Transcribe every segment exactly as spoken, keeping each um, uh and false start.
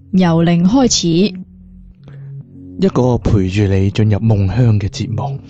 由零開始， 一個陪住你進入夢鄉嘅節目。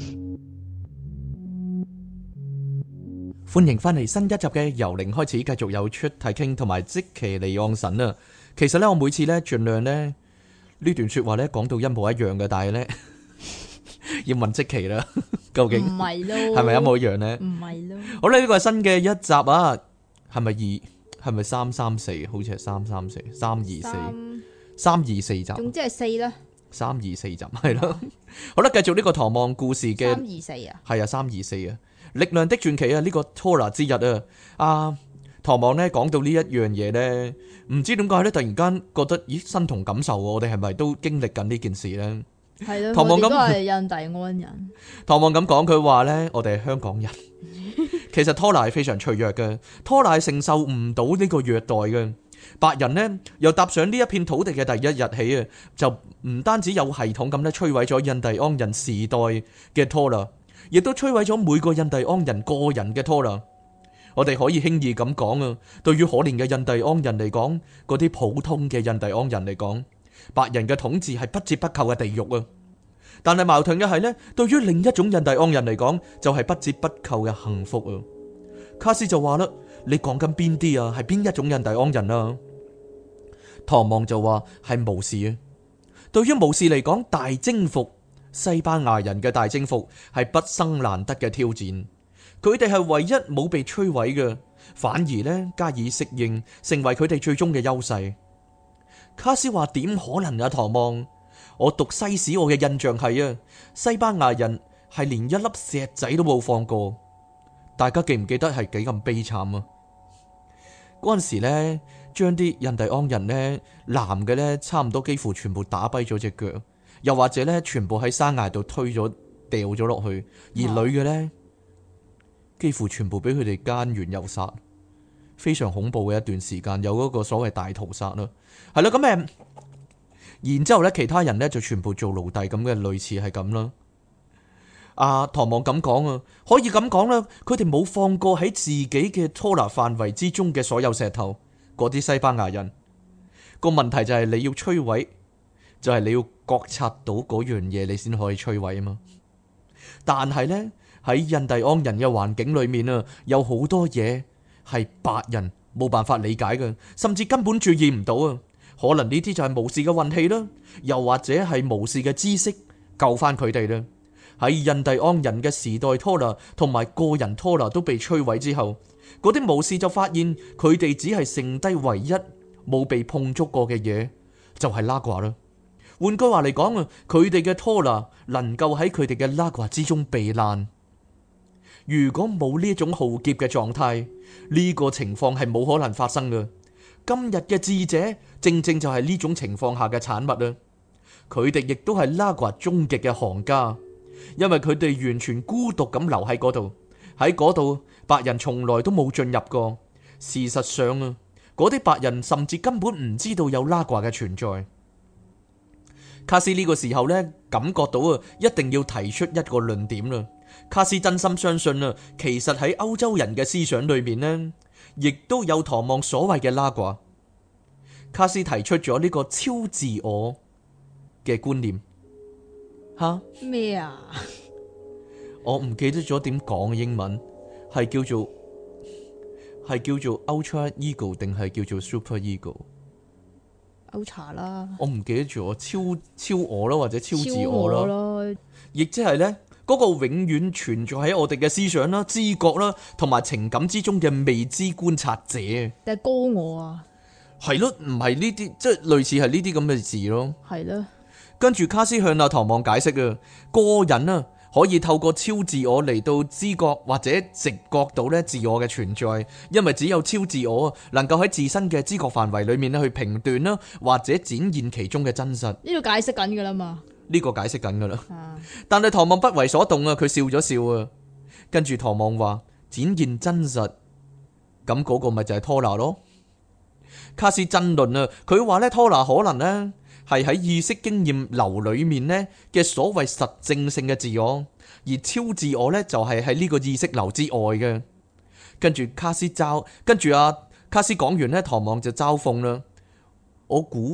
歡迎翻嚟新一集嘅由零開始，繼續有出題傾同埋即其離岸神啊！其實呢，我每次呢盡量呢呢段說話呢講到一模一樣嘅，但係呢要問即其啦，究竟唔係咯， 係咪一模一樣呢？ 唔係咯， 好啦，呢個係新嘅一集啊，係咪二？係咪三三四？好似係三三四，三二四，三二四集。 總之係四啦。 三二四集係咯。好啦，繼續呢個唐望故事嘅三二四啊， 係啊，三二四啊，力量的傳奇啊，呢個 Tora 之日啊，啊，唐望呢講到呢一樣嘢呢，唔知點解呢，突然間覺得咦身同感受喎，我哋係咪都經歷緊呢件事呢？ 係咯， 唐望咁我哋都係印第安人。 唐望咁講，佢話呢，我哋係香港人。其實 Tora 係非常脆弱嘅 ，Tora 係承受唔到呢個虐待嘅。白人呢，由踏上呢一片土地嘅第一日起啊，就唔單止有系統咁咧摧毀咗印第安人時代嘅 Tora，亦都摧毀咗每個印第安人個人嘅 Tora。我哋可以輕易咁講啊，對於可憐嘅印第安人嚟講，嗰啲普通嘅印第安人嚟講，白人嘅統治係不折不扣嘅地獄啊。但係矛盾嘅係呢，對於另一種印第安人嚟講，就係不折不扣嘅幸福啊。卡斯就話啦，你講緊邊啲啊？係邊一種印第安人啊？唐望就話係巫士啊。對於巫士嚟講，大征服西班牙人嘅大征服係畢生難得嘅挑戰。佢哋係唯一冇被摧毀嘅，反而呢加以適應，成為佢哋最終嘅優勢。卡斯話點可能啊？唐望，我讀西史，我嘅印象係啊，西班牙人係連一粒石仔都冇放過。大家記唔記得係幾咁悲慘啊？嗰陣時咧，將啲印第安人呢，男嘅呢，差唔多幾乎全部打跛咗隻腳，又或者呢，全部喺山崖度推咗掉咗落去，而女嘅呢，幾乎全部俾佢哋姦完又殺，非常恐怖嘅一段時間，有嗰個所謂大屠殺啦。係啦，咁誒，然之後咧，其他人呢，就全部做奴隸咁嘅，類似係咁啦。阿唐望咁講啊，可以咁講啦，佢哋冇放過喺自己嘅托拿範圍之中嘅所有石頭。嗰啲西班牙人個問題就係你要摧毀，就係你要覺察到嗰樣嘢，你先可以摧毀啊嘛。但係呢，喺印第安人嘅環境裏面啊，有好多嘢係白人冇辦法理解嘅，甚至根本注意唔到啊。可能呢啲就係巫士嘅運氣啦，又或者係巫士嘅知識救翻佢哋啦。喺印第安人嘅時代拖拿同埋個人拖拿都被摧毀之後，嗰啲巫士就發現佢哋只係剩低唯一冇被碰觸過嘅嘢，就係拉掛啦。換句話嚟講啊，佢哋嘅拖拿能夠喺佢哋嘅拉掛之中避難。如果冇呢種浩劫嘅狀態，呢個情況係冇可能發生嘅。今日嘅智者正正就係呢種情況下嘅產物啊！佢哋亦都係拉掛終極嘅行家。因為佢哋完全孤獨咁留喺嗰度，喺嗰度白人從來都冇進入過。事實上啊，嗰啲白人甚至根本唔知道有拉掛嘅存在。卡斯呢個時候呢，感覺到啊，一定要提出一個論點啦。卡斯真心相信啊，其實喺歐洲人嘅思想裏面呢，亦都有唐望所謂嘅拉掛。卡斯提出咗呢個超自我嘅觀念。吓咩啊？ 我唔記得咗點講英文，係叫做係叫做 Ultra Ego 定係叫做 Super Ego？Ultra 啦， 我唔記得咗超超我啦，或者超自我啦， 咯， 亦即係呢嗰個永遠存在喺我哋嘅思想啦、知覺啦同埋情感之中嘅未知觀察者。 定係高我啊？ 係咯，唔係呢啲，即係類似係呢啲咁嘅字咯。 係咯。 跟住卡斯向阿唐望解釋啊，個人啊可以透過超自我嚟到知覺或者直覺到咧自我嘅存在，因為只有超自我能夠喺自身嘅知覺範圍裏面咧去評斷啦，或者展現其中嘅真實。 呢度解釋緊噶啦嘛？ 呢個解釋緊噶啦。 啊、 但係唐望不為所動啊，佢笑咗笑啊。跟住唐望話展現真實，咁嗰個咪就係拖拿咯。卡斯爭論啊，佢話咧拖拿可能呢。係喺意識經驗流裏面呢嘅所謂實證性嘅自我，而超自我呢就係喺呢個意識流之外嘅。跟住卡斯嘲，跟住阿卡斯講完呢，唐望就嘲諷啦。我估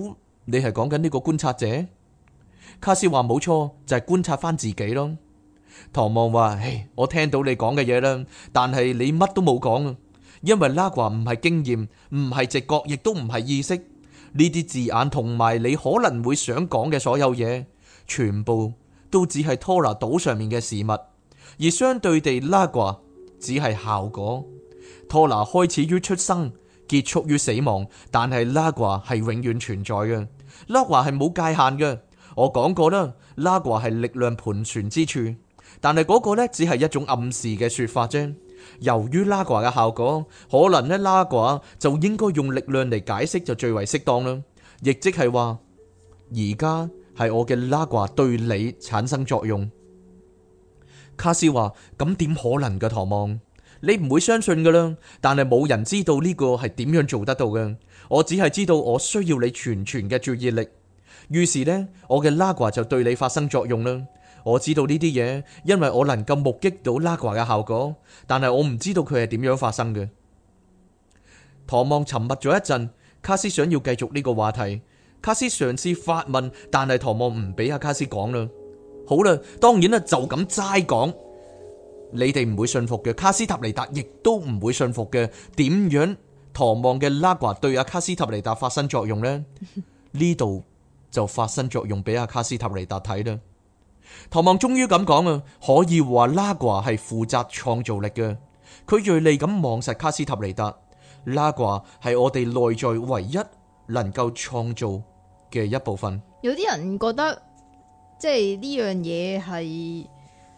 你係講緊呢個觀察者？卡斯話冇錯，就係觀察翻自己咯。唐望話：唉，我聽到你講嘅嘢啦，但係你乜都冇講啊，因為拉華唔係經驗，唔係直覺，亦都唔係意識。呢啲字眼同埋你可能會想講嘅所有嘢，全部都只係托拿島上面嘅事物，而相對地，拉華只係效果。托拿開始於出生，結束於死亡，但係拉華係永遠存在嘅。拉華係冇界限嘅。我講過啦，拉華係力量盤旋之處，但係嗰個呢，只係一種暗示嘅說法啫。由於拉華嘅效果，可能呢，拉華就應該用力量嚟解釋就最為適當啦。亦即係話，而家係我嘅拉華對你產生作用。卡斯話：咁點可能噶？唐望，你唔會相信噶啦。但係冇人知道呢個係點樣做得到嘅。我只係知道我需要你全全嘅注意力。於是呢，我嘅拉華就對你發生作用啦。我知道呢啲嘢，因為我能夠目擊到拉華嘅效果，但係我唔知道佢係點樣發生嘅。唐望沉默咗一陣，卡斯想要繼續呢個話題。卡斯嘗試發問，但係唐望唔俾阿卡斯講啦。好啦，當然啦，就咁齋講，你哋唔會信服嘅。卡斯塔尼達亦都唔會信服嘅。點樣唐望嘅拉華對阿卡斯塔尼達發生作用呢？呢度就發生作用俾阿卡斯塔尼達睇啦。唐望終於咁講啊，可以話拉華係負責創造力嘅。佢銳利咁望實卡斯塔尼達，拉華係我哋內在唯一能夠創造嘅一部分。 有啲人覺得即係呢樣嘢係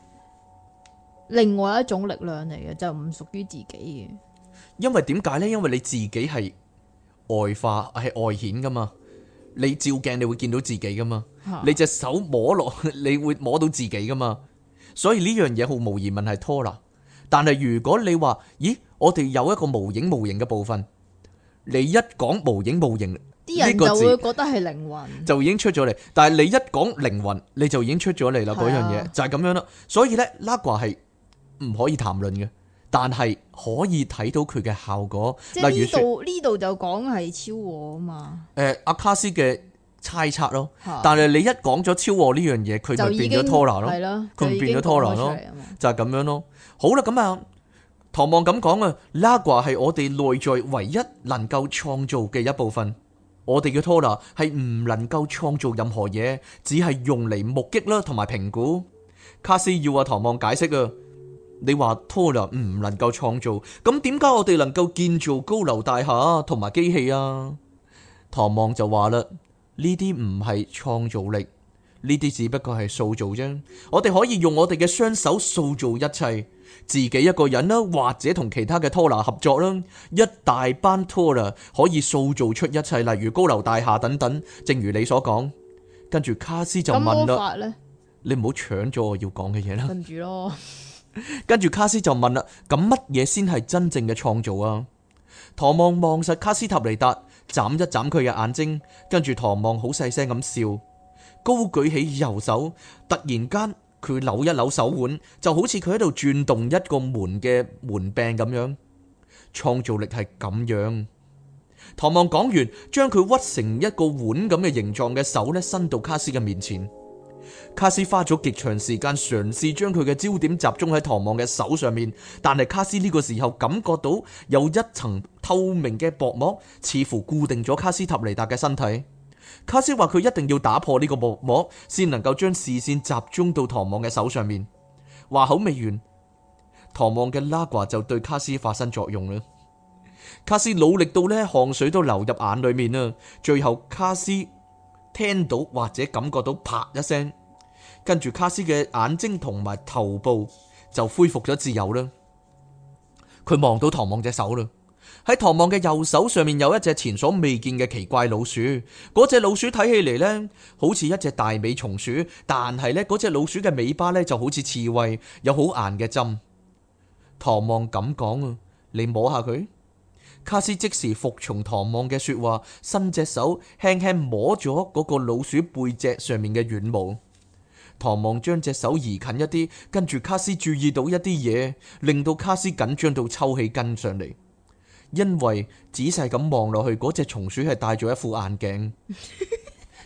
另外一種力量嚟嘅，就唔屬於自己嘅。 因為點解呢？因為你自己係外化，係外顯噶嘛。你照鏡你會見到自己噶嘛，啊、你隻手摸落你會摸到自己噶嘛，所以呢樣嘢毫無疑問係拖拿。但係如果你話，咦，我哋有一個無影無形嘅部分，你一講無影無形， 啲人就會覺得係靈魂， 就已經出咗嚟。但係你一講靈魂，你就已經出咗嚟啦，嗰樣嘢就係咁樣啦。所以呢，拉掛係唔可以談論嘅，但係可以睇到佢嘅效果。 即係呢度呢度就講係超我啊嘛。誒、 呃，阿卡斯嘅猜測咯，但係你一講咗超我呢樣嘢，佢就變咗拖拿咯，佢唔變咗拖拿咯，就係咁樣咯。好啦，咁啊，唐望咁講啊，拉掛係我哋內在唯一能夠創造嘅一部分。我哋嘅拖拿係唔能夠創造任何嘢，只係用嚟目擊啦，同埋評估。卡斯要阿唐望解釋啊，你話拖拿唔能夠創造，咁點解我哋能夠建造高樓大廈同埋機器啊？唐望就話啦，呢啲唔係創造力，呢啲只不過係塑造啫。我哋可以用我哋嘅雙手塑造一切，自己一個人啦，或者同其他嘅拖拿合作啦，一大班拖拿可以塑造出一切，例如高樓大廈等等。正如你所講，跟住卡斯就問啦，你唔好搶咗我要講嘅嘢啦。 跟住咯， 跟住卡斯就問啦，咁乜嘢先係真正嘅創造啊？唐望望實卡斯塔尼達，眨一眨佢嘅眼睛，跟住唐望好細聲咁笑，高舉起右手，突然間佢扭一扭手腕，就好似佢喺度轉動一個門嘅門柄咁樣。創造力係咁樣。唐望講完，將佢屈成一個碗咁嘅形狀嘅手咧，伸到卡斯嘅面前。卡斯花咗極長時間嘗試將佢嘅焦點集中喺唐望嘅手上面，但係卡斯呢個時候感覺到有一層透明嘅薄膜，似乎固定咗卡斯塔尼達嘅身體。卡斯話佢一定要打破呢個薄膜，先能夠將視線集中到唐望嘅手上面。話口未完，唐望嘅拉掛就對卡斯發生作用啦。卡斯努力到呢汗水都流入眼裏面啦，最後卡斯聽到或者感覺到啪一聲，跟住卡斯嘅眼睛同埋頭部就恢復咗自由啦。佢望到唐望隻手啦，喺唐望嘅右手上面有一隻前所未見嘅奇怪老鼠。嗰隻老鼠睇起嚟呢，好似一隻大尾松鼠，但係呢，嗰隻老鼠嘅尾巴呢就好似刺蝟，有好硬嘅針。唐望咁講啊，你摸下佢。卡斯即時服從唐望嘅說話，伸隻手輕輕摸咗嗰個老鼠背脊上面嘅軟毛。唐望將隻手移近一啲，跟住卡斯注意到一啲嘢，令到卡斯緊張到抽起筋上嚟。因為仔細咁望落去，嗰隻松鼠係戴咗一副眼鏡。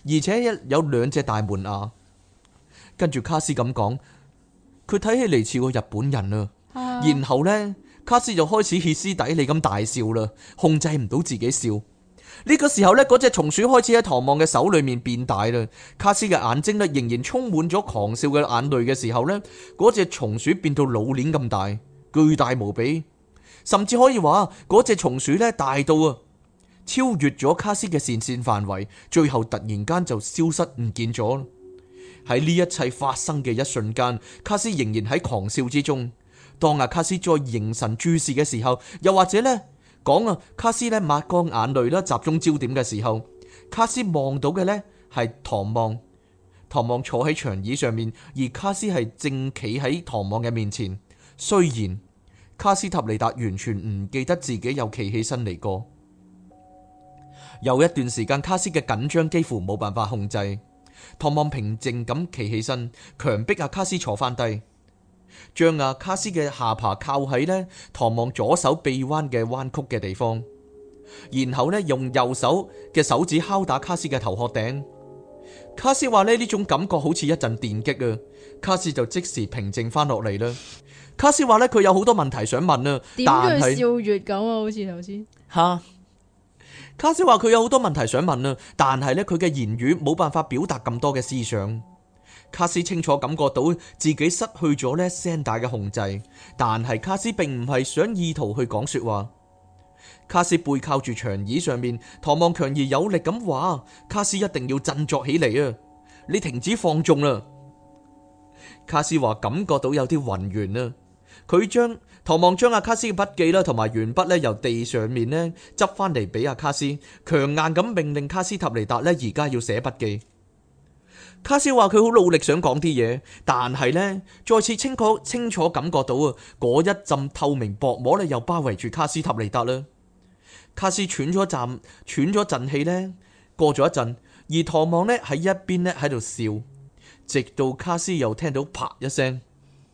而且有兩隻大門牙。跟住卡斯咁講，佢睇起嚟似個日本人啊。 啊然後呢，卡斯就開始歇斯底里咁大笑啦，控制唔到自己笑。呢個時候呢，嗰隻松鼠開始喺唐望嘅手裏面變大啦。卡斯嘅眼睛呢，仍然充滿咗狂笑嘅眼淚嘅時候呢，嗰隻松鼠變到老年咁大，巨大無比，甚至可以話嗰隻松鼠呢，大到啊超越咗卡斯嘅視線範圍，最後突然間就消失唔見咗。喺呢一切發生嘅一瞬間，卡斯仍然喺狂笑之中。當阿卡斯再凝神注視嘅時候，又或者呢講啊，卡斯呢抹乾眼淚啦，集中焦點嘅時候，卡斯望到嘅呢係唐望。唐望坐喺長椅上面，而卡斯係正企喺唐望嘅面前。雖然卡斯塔尼達完全唔記得自己有企起身嚟過，有一段時間卡斯嘅緊張幾乎冇辦法控制。唐望平靜咁企起身，強迫阿卡斯坐翻低，將阿卡斯嘅下巴靠喺呢唐望左手臂彎嘅彎曲嘅地方，然後呢用右手嘅手指敲打卡斯嘅頭殼頂。卡斯話呢呢種感覺好似一陣電擊啊！卡斯就即時平靜翻落嚟啦。卡斯話呢佢有好多問題想問啊，但係笑月咁啊，好似頭先吓。卡斯話佢有好多問題想問啊，但係呢，佢嘅言語冇辦法表達咁多嘅思想。卡斯清楚感覺到自己失去咗呢聲帶嘅控制，但係卡斯並唔係想意圖去講說話。卡斯背靠住長椅上面，唐望強而有力咁話：卡斯一定要振作起嚟啊！你停止放縱啦！卡斯話感覺到有啲暈眩啊。佢將唐望將阿卡斯嘅筆記啦，同埋鉛筆咧由地上面咧執翻嚟俾阿卡斯，強硬咁命令卡斯塔尼達咧而家要寫筆記。卡斯話佢好努力想講啲嘢，但係呢，再次清楚清楚感覺到啊，嗰一陣透明薄膜咧又包圍住卡斯塔尼達啦。卡斯喘咗陣，喘咗陣氣呢，過咗一陣，而唐望呢喺一邊咧喺度笑，直到卡斯又聽到啪一聲。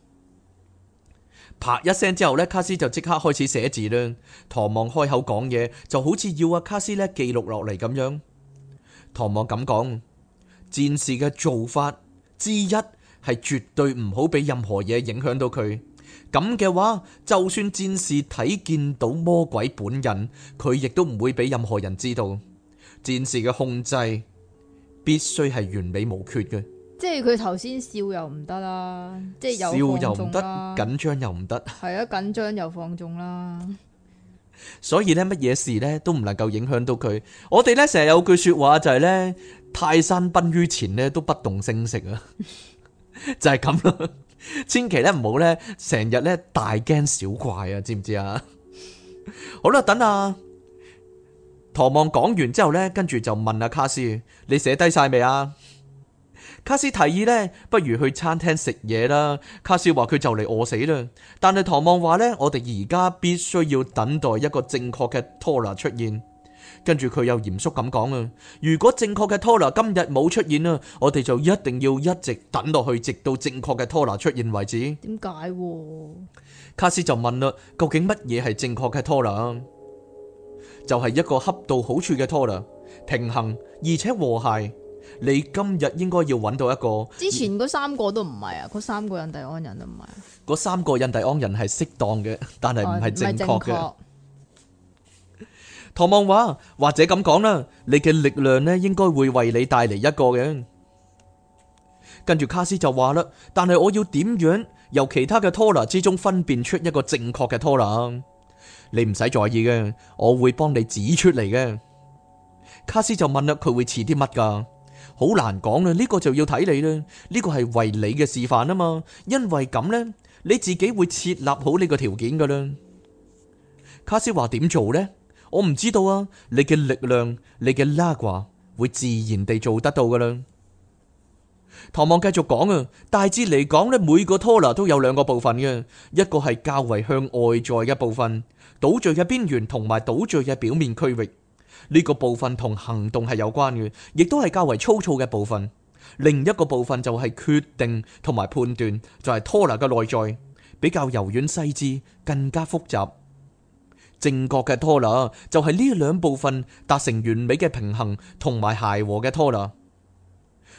啪一聲之後呢，卡斯就即刻開始寫字啦。唐望開口講嘢，就好似要阿卡斯呢記錄落嚟咁樣。唐望咁講：戰士嘅做法之一係絕對唔好俾任何嘢影響到佢。咁嘅話，就算戰士睇見到魔鬼本人，佢亦都唔會俾任何人知道。戰士嘅控制必須係完美無缺嘅。 即係佢頭先笑又唔得啦，即係笑又唔得，緊張又唔得， 係啊，緊張又放縱啦。 所以咧，乜嘢事咧都唔能夠影響到佢。我哋咧成日有句說話就係咧，泰山崩於前咧都不動聲色啊，就係咁咯。千祈咧唔好咧成日咧大驚小怪啊，知唔知啊？好啦，等啊，唐望講完之後咧，跟住就問阿卡斯：你寫低晒未啊？卡斯提議呢，不如去餐廳食嘢啦。卡斯話佢就嚟餓死啦，但係唐望話呢，我哋而家必須要等待一個正確嘅托拿出現。跟住佢又嚴肅咁講啊，如果正確嘅托拿今日冇出現啊，我哋就一定要一直等落去，直到正確嘅托拿出現為止。 點解？ 卡斯就問啦，究竟乜嘢係正確嘅托拿？就係一個恰到好處嘅托拿，平衡而且和諧。你今日應該要揾到一個， 之前嗰三個都唔係啊，嗰三個印第安人都唔係啊， 嗰三個印第安人係適當嘅，但係唔係正確嘅。唐望話，或者咁講啦，你嘅力量呢應該會為你帶嚟一個嘅。跟住卡斯就話啦，但係我要點樣由其他嘅托拿之中分辨出一個正確嘅托拿？你唔使在意嘅，我會幫你指出嚟嘅。卡斯就問啦，佢會似啲乜噶？好難講啦，呢個就要睇你啦。呢個係為你嘅示範啊嘛，因為咁呢，你自己會設立好呢個條件噶啦。卡斯話點做呢？我唔知道啊。你嘅力量，你嘅拉掛會自然地做得到噶啦。唐望繼續講啊，大致嚟講呢，每個托拿都有兩個部分嘅，一個係較為向外在嘅部分，島嶼嘅邊緣同埋島嶼嘅表面區域。呢個部分同行動係有關嘅，亦都係較為粗糙嘅部分。另一個部分就係決定同埋判斷，就係托拿嘅內在，比較柔軟細緻，更加複雜。正確嘅托拿就係呢兩部分達成完美嘅平衡同埋諧和嘅托拿。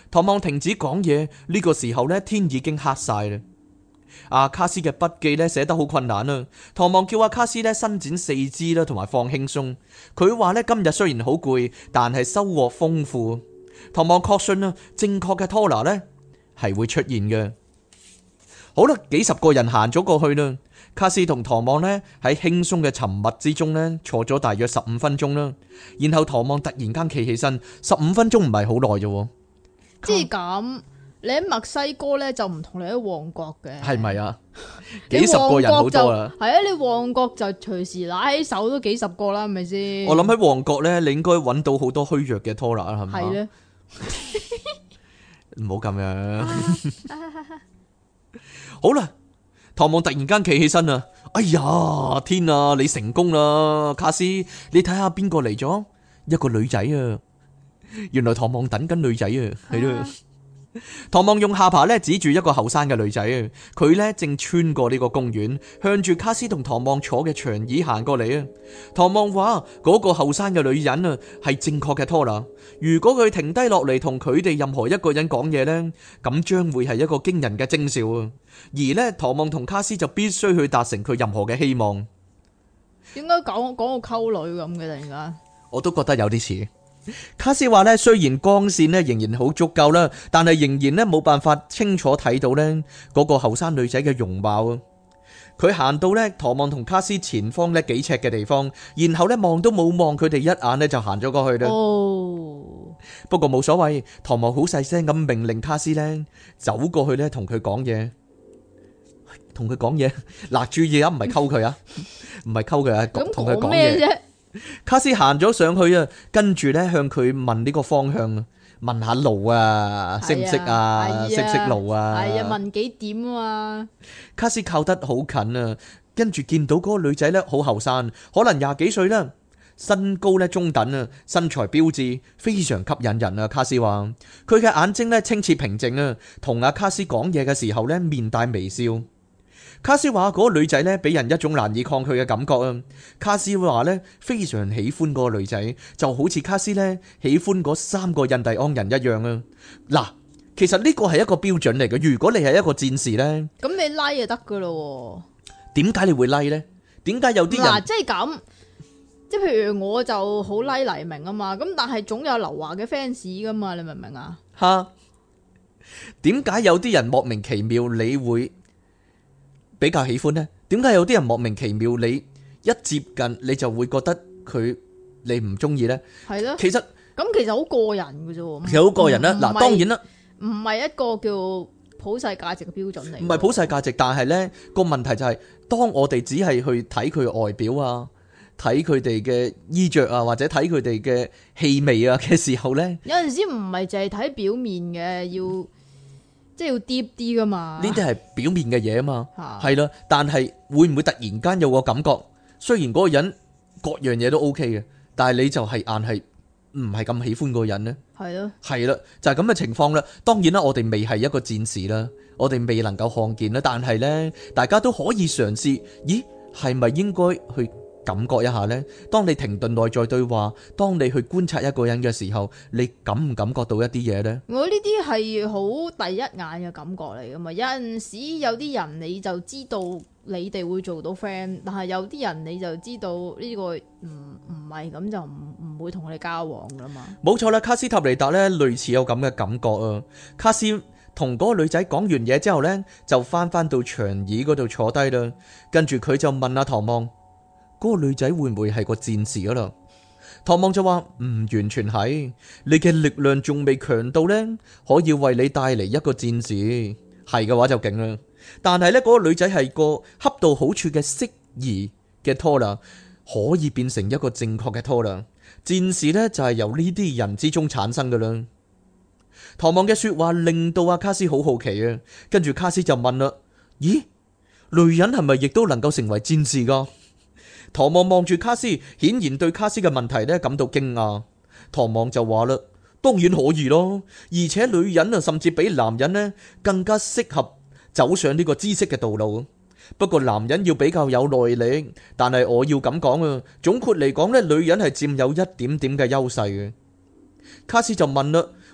唐望停止講嘢，呢個時候呢，天已經黑晒啦。阿卡斯嘅筆記呢寫得好困難啦。唐望叫阿卡斯呢伸展四肢啦，同埋放輕鬆。佢話呢，今日雖然好攰，但係收穫豐富。唐望確信啦，正確嘅拖拿呢係會出現嘅。好啦，幾十個人行咗過去啦。卡斯同唐望呢喺輕鬆嘅沉默之中呢坐咗大約十五分鐘啦。然後唐望突然間企起身，十五分鐘唔係好耐啫。 即係咁。你喺墨西哥咧就唔同你喺旺角嘅， 係咪啊？幾十個人好多啦， 係啊！你旺角就隨時拿起手都幾十個啦，係咪先？ 我諗喺旺角咧，你應該揾到好多虛弱嘅拖拿啦，係咪？係咧，唔好咁樣。好啦，唐望突然間企起身啦！哎呀，天啊！你成功啦，卡斯！你睇下邊個嚟咗？一個女仔啊！原來唐望等緊女仔啊，係咯。唐望用下巴咧指住一個後生嘅女仔，佢咧正穿過呢個公園，向住卡斯同唐望坐嘅長椅行過嚟啊。唐望話嗰個後生嘅女人啊係正確嘅拖拿，如果佢停低落嚟同佢哋任何一個人講嘢呢，咁將會係一個驚人嘅徵兆啊。而呢，唐望同卡斯就必須去達成佢任何嘅希望。 點解講講個溝女咁嘅突然間？ 我都覺得有啲似。卡斯話咧，雖然光線咧仍然好足夠啦，但係仍然咧冇辦法清楚睇到咧嗰個後生女仔嘅容貌啊。佢行到咧唐望同卡斯前方咧幾尺嘅地方，然後咧望都冇望佢哋一眼咧就行咗過去啦。哦，不過冇所謂，唐望好細聲咁命令卡斯咧走過去咧同佢講嘢，同佢講嘢。嗱，注意啊，唔係溝佢啊，唔係溝佢啊，同佢講嘢。卡斯行咗上去啊，跟住咧向佢問呢個方向啊，問下路啊，識唔識啊，識唔識路啊？係啊， 問幾點啊？ 卡斯靠得好近啊，跟住見到嗰個女仔咧好後生，可能廿幾歲啦，身高咧中等啊，身材標緻，非常吸引人啊。卡斯話佢嘅眼睛咧清澈平靜啊，同阿卡斯講嘢嘅時候咧面帶微笑。卡斯話嗰個女仔咧俾人一種難以抗拒嘅感覺啊！卡斯話咧非常喜歡嗰個女仔，就好似卡斯咧喜歡嗰三個印第安人一樣啊！嗱，其實呢個係一個標準嚟嘅。如果你係一個戰士咧， 咁你拉就得噶咯。 點解你會拉咧？點解有啲人嗱， 即係咁，即係譬如我就好拉黎明啊嘛，咁但係總有劉華嘅 fans 噶嘛，你明唔明啊？ 吓，點解有啲人莫名其妙你會比較喜歡呢？點解有啲人莫名其妙你一接近你就會覺得佢你唔中意呢？係咯，其實咁其實好個人嘅啫， 其實好個人啦。嗱，當然啦， 唔係一個叫普世價值嘅標準嚟， 唔係普世價值，但係呢個問題就係，當我哋只係去睇佢外表啊，睇佢哋嘅衣着啊，或者睇佢哋嘅氣味啊嘅時候呢， 有陣時唔係淨係睇表面嘅，要。即係要 deep 啲噶嘛？ 呢啲係表面嘅嘢啊嘛，係啦。但係會唔會突然間有個感覺？雖然嗰個人各樣嘢都 OK 嘅，但係你就係硬係唔係咁喜歡嗰個人呢？係咯，係啦，就係咁嘅情況啦。當然啦，我哋未係一個戰士啦，我哋未能夠看見啦。但係呢，大家都可以嘗試。咦，係咪應該去感覺一下呢？當你停頓內在對話，當你去觀察一個人嘅時候，你感唔感覺到一啲嘢呢？ 我呢啲係好第一眼嘅感覺嚟噶嘛。有陣時有啲人你就知道你哋會做到 friend， 但係有啲人你就知道呢個唔唔係咁就唔唔會同你交往噶嘛。 冇錯啦，卡斯塔尼達呢類似有咁嘅感覺啊。卡斯同嗰個女仔講完嘢之後呢，就翻翻到長椅嗰度坐低啦，跟住佢就問阿唐望。嗰個女仔會唔會係個戰士噶啦？唐望就話唔完全係，你嘅力量仲未強到呢，可以為你帶嚟一個戰士。係嘅話就勁啦。但係呢，嗰個女仔係個恰到好處嘅適宜嘅拖拿，可以變成一個正確嘅拖拿。戰士呢，就係由呢啲人之中產生噶啦。唐望嘅說話令到阿卡斯好好奇啊，跟住卡斯就問啦：咦，女人係咪亦都能夠成為戰士噶？唐望望住卡斯，顯然對卡斯嘅問題咧感到驚訝。唐望就話啦：當然可以咯，而且女人啊，甚至比男人咧更加適合走上呢個知識嘅道路。不過男人要比較有耐力，但係我要咁講啊，總括嚟講咧，女人係佔有一點點嘅優勢嘅。卡斯就問啦：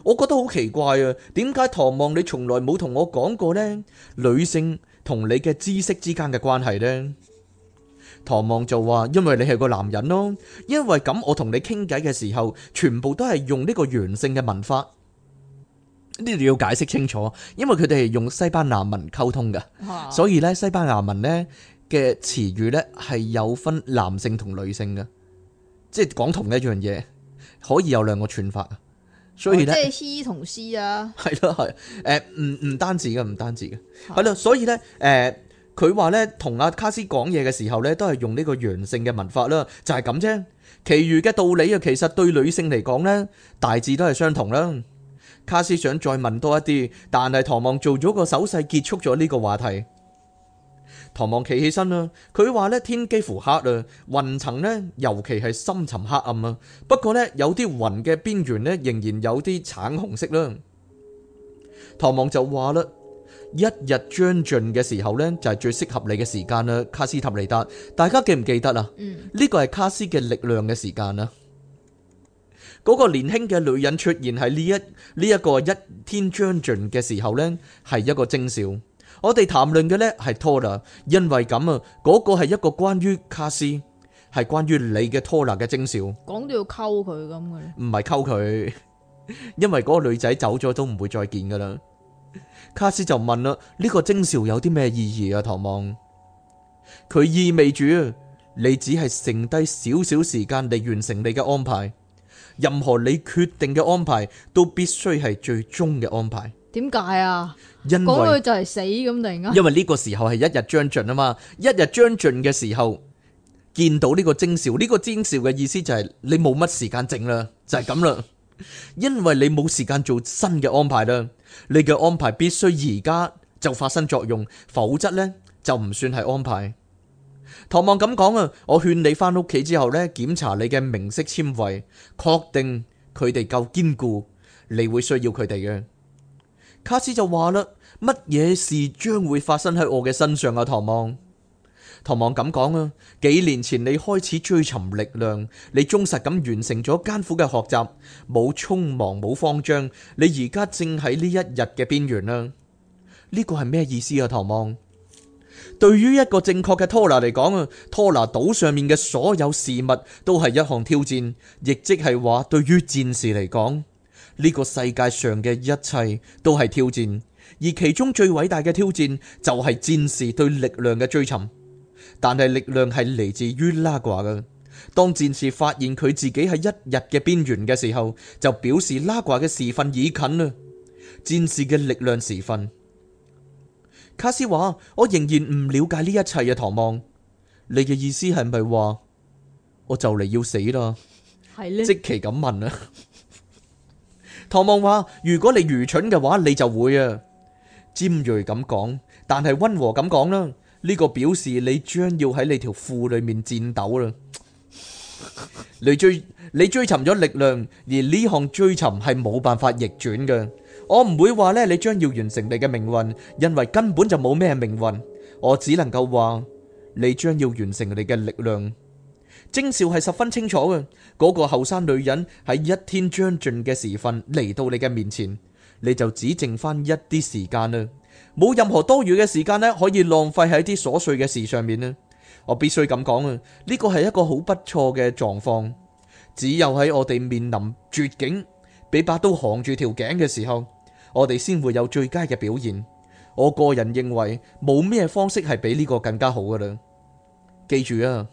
我覺得好奇怪啊，點解唐望你從來冇同我講過呢？女性同你嘅知識之間嘅關係呢？唐望就話：因為你係個男人咯，因為咁我同你傾偈嘅時候，全部都係用呢個陽性嘅文法。呢度要解釋清楚，因為佢哋係用西班牙文溝通嘅， 啊所以咧西班牙文咧嘅詞語咧係有分男性同女性嘅，即係講同一樣嘢，可以有兩個串法。所以咧， 哦即係 he 同 she 啊， 係咯係，誒唔唔單止嘅，唔單止嘅，係咯，所以咧誒。佢話咧，同阿卡斯講嘢嘅時候咧，都係用呢個陽性嘅文法啦，就係咁啫。其餘嘅道理啊，其實對女性嚟講咧，大致都係相同啦。卡斯想再問多一啲，但係唐望做咗個手勢結束咗呢個話題。唐望企起身啦，佢話咧天幾乎黑啊，雲層咧尤其係深沉黑暗啊。不過咧有啲雲嘅邊緣咧仍然有啲橙紅色啦。唐望就話啦。一日將盡嘅時候呢，就係最適合你嘅時間啦，卡斯塔尼達。大家記唔記得啊？ 嗯， 呢個係卡斯嘅力量嘅時間啦。嗰個年輕嘅女人出現喺呢一呢一個一天將盡嘅時候呢，係一個徵兆。我哋談論嘅呢係托拿，因為咁啊，嗰個係一個關於卡斯，係關於你嘅托拿嘅徵兆。 講到要溝佢咁嘅咧， 唔係溝佢，因為嗰個女仔走咗都唔會再見噶啦。卡斯就問啦：呢個徵兆有啲咩意義啊？唐望，佢意味住你只係剩低少少時間嚟完成你嘅安排，任何你決定嘅安排都必須係最終嘅安排。 點解啊？ 因講到為就係死咁突然間， 因為呢個時候係一日將盡啊嘛，一日將盡嘅時候見到呢個徵兆，呢個徵兆嘅意思就係你冇乜時間剩啦，就係咁啦。因為你冇時間做新嘅安排啦。你嘅安排必須而家就發生作用，否則呢就唔算係安排。唐望咁講啊，我勸你翻屋企之後呢，檢查你嘅明色纖維，確定佢哋夠堅固，你會需要佢哋嘅。卡斯就話啦，乜嘢事將會發生喺我嘅身上啊？唐望，唐望咁講啊，幾年前你開始追尋力量，你忠實咁完成咗艱苦嘅學習，冇匆忙冇慌張，你而家正喺呢一日嘅邊緣啦。呢個係咩意思啊？唐望，對於一個正確嘅拖拿嚟講啊，拖拿島上面嘅所有事物都係一項挑戰，亦即係話對於戰士嚟講，呢個世界上嘅一切都係挑戰，而其中最偉大嘅挑戰就係戰士對力量嘅追尋。但係力量係嚟自於拉掛嘅。當戰士發現佢自己喺一日嘅邊緣嘅時候，就表示拉掛嘅時分已近啦。戰士嘅力量時分。卡斯話：我仍然唔了解呢一切啊，唐望。你嘅意思係咪話我就嚟要死啦？ 係咧， 即其咁問啊。唐望話：如果你愚蠢嘅話，你就會啊。尖銳咁講，但係溫和咁講啦。呢個表示你將要喺你條褲裏面戰鬥啦。你追你追尋咗力量，而呢項追尋係冇辦法逆轉嘅。我唔會話咧，你將要完成你嘅命運，因為根本就冇咩命運。我只能夠話你將要完成你嘅力量。徵兆係十分清楚嘅。嗰個後生女人喺一天將盡嘅時分嚟到你嘅面前，你就只剩翻一啲時間啦。冇任何多餘嘅時間咧，可以浪費喺啲瑣碎嘅事上面咧。我必須咁講啊，呢個係一個好不錯嘅狀況。只有喺我哋面臨絕境，俾把刀行住條頸嘅時候，我哋先會有最佳嘅表現。我個人認為冇咩方式係比呢個更加好噶啦。記住啊，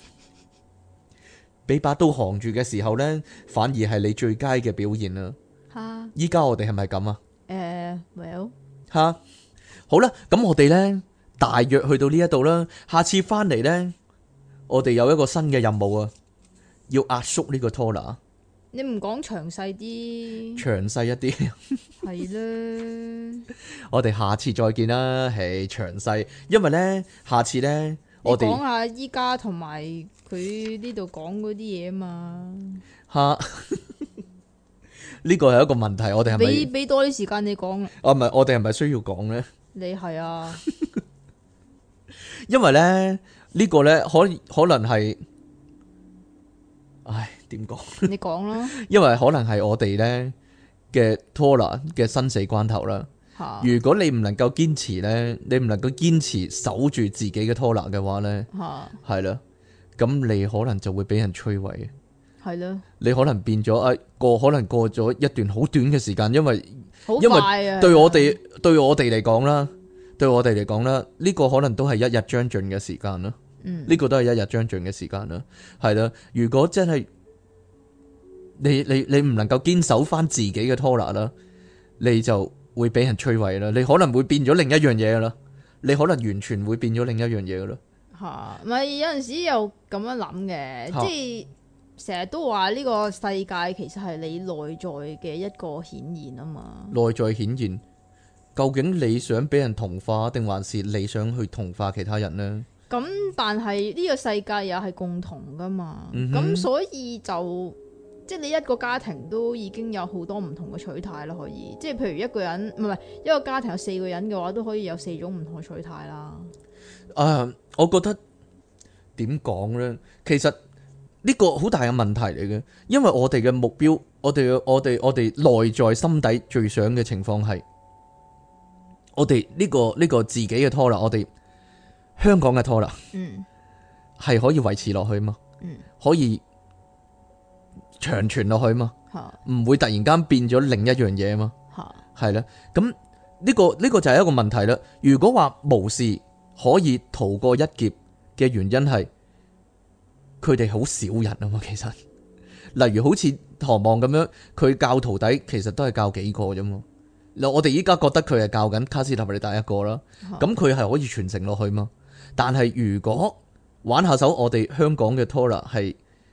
俾把刀行住嘅時候呢，反而係你最佳嘅表現啊。 吓， 依家我哋係咪咁啊？ 誒，well， 吓。好啦，咁我哋呢，大約去到呢一度啦。下次翻嚟呢，我哋有一個新嘅任務啊，要壓縮呢個拖拿， 你唔講詳細啲， 詳細一啲。 係啦， 我哋下次再見啦，係詳細，因為呢，下次呢， 你我哋講下依家同埋佢呢度講嗰啲嘢啊嘛， 吓呢個係一個問題，我哋係俾咪？ 俾多啲時間你講啊， 啊，唔係，我哋係咪需要講呢？ 你係啊， 因為咧呢個呢，可可能係，唉，點講？ 你講啦， 因為可能係我哋呢嘅拖拿嘅生死關頭啦。 嚇如果你唔能夠堅持呢，你唔能夠堅持守住自己嘅拖拿嘅話呢， 嚇係啦，咁你可能就會俾人摧毀。 係咯， 你可能變咗誒過，可能過咗一段好短嘅時間，因為好因快啊！ 為對我哋對我哋嚟講啦，對我哋嚟講啦，呢個可能都係一日將盡嘅時間啦。 嗯呢個都係一日將盡嘅時間啦。係啦，如果真係你你你唔能夠堅守翻自己嘅拖拿啦，你就會俾人摧毀啦。你可能會變咗另一樣嘢噶啦，你可能完全會變咗另一樣嘢噶啦。 嚇，唔係有陣時又咁樣諗嘅， 嚇即係成日都話呢個世界其實係你內在嘅一個顯現啊嘛。 內在顯現，究竟你想俾人同化，定還是你想去同化其他人呢？ 咁但係呢個世界又係共同噶嘛，咁、 嗯哼所以就即係你一個家庭都已經有好多唔同嘅取態啦，可以即係譬如一個人唔係唔係一個家庭有四個人嘅話，都可以有四種唔同嘅取態啦。 啊，我覺得點講呢？其實呢個好大嘅問題嚟嘅，因為我哋嘅目標，我哋嘅我哋我哋內在心底最想嘅情況係，我哋呢個呢個自己嘅拖拿，我哋香港嘅拖拿嗯係可以維持落去嘛， 嗯可以長存落去嘛， 嚇唔會突然間變咗另一樣嘢嘛， 嚇係啦。咁呢個呢個就係一個問題啦。如果話無事可以逃過一劫嘅原因係佢哋好少人啊嘛，其實例如好似唐望咁樣，佢教徒弟其實都係教幾個啫嘛。嗱，我哋依家覺得佢係教緊卡斯塔利達一個啦，咁佢係可以傳承落去嘛。但係如果玩下手，我哋香港嘅 Tora 係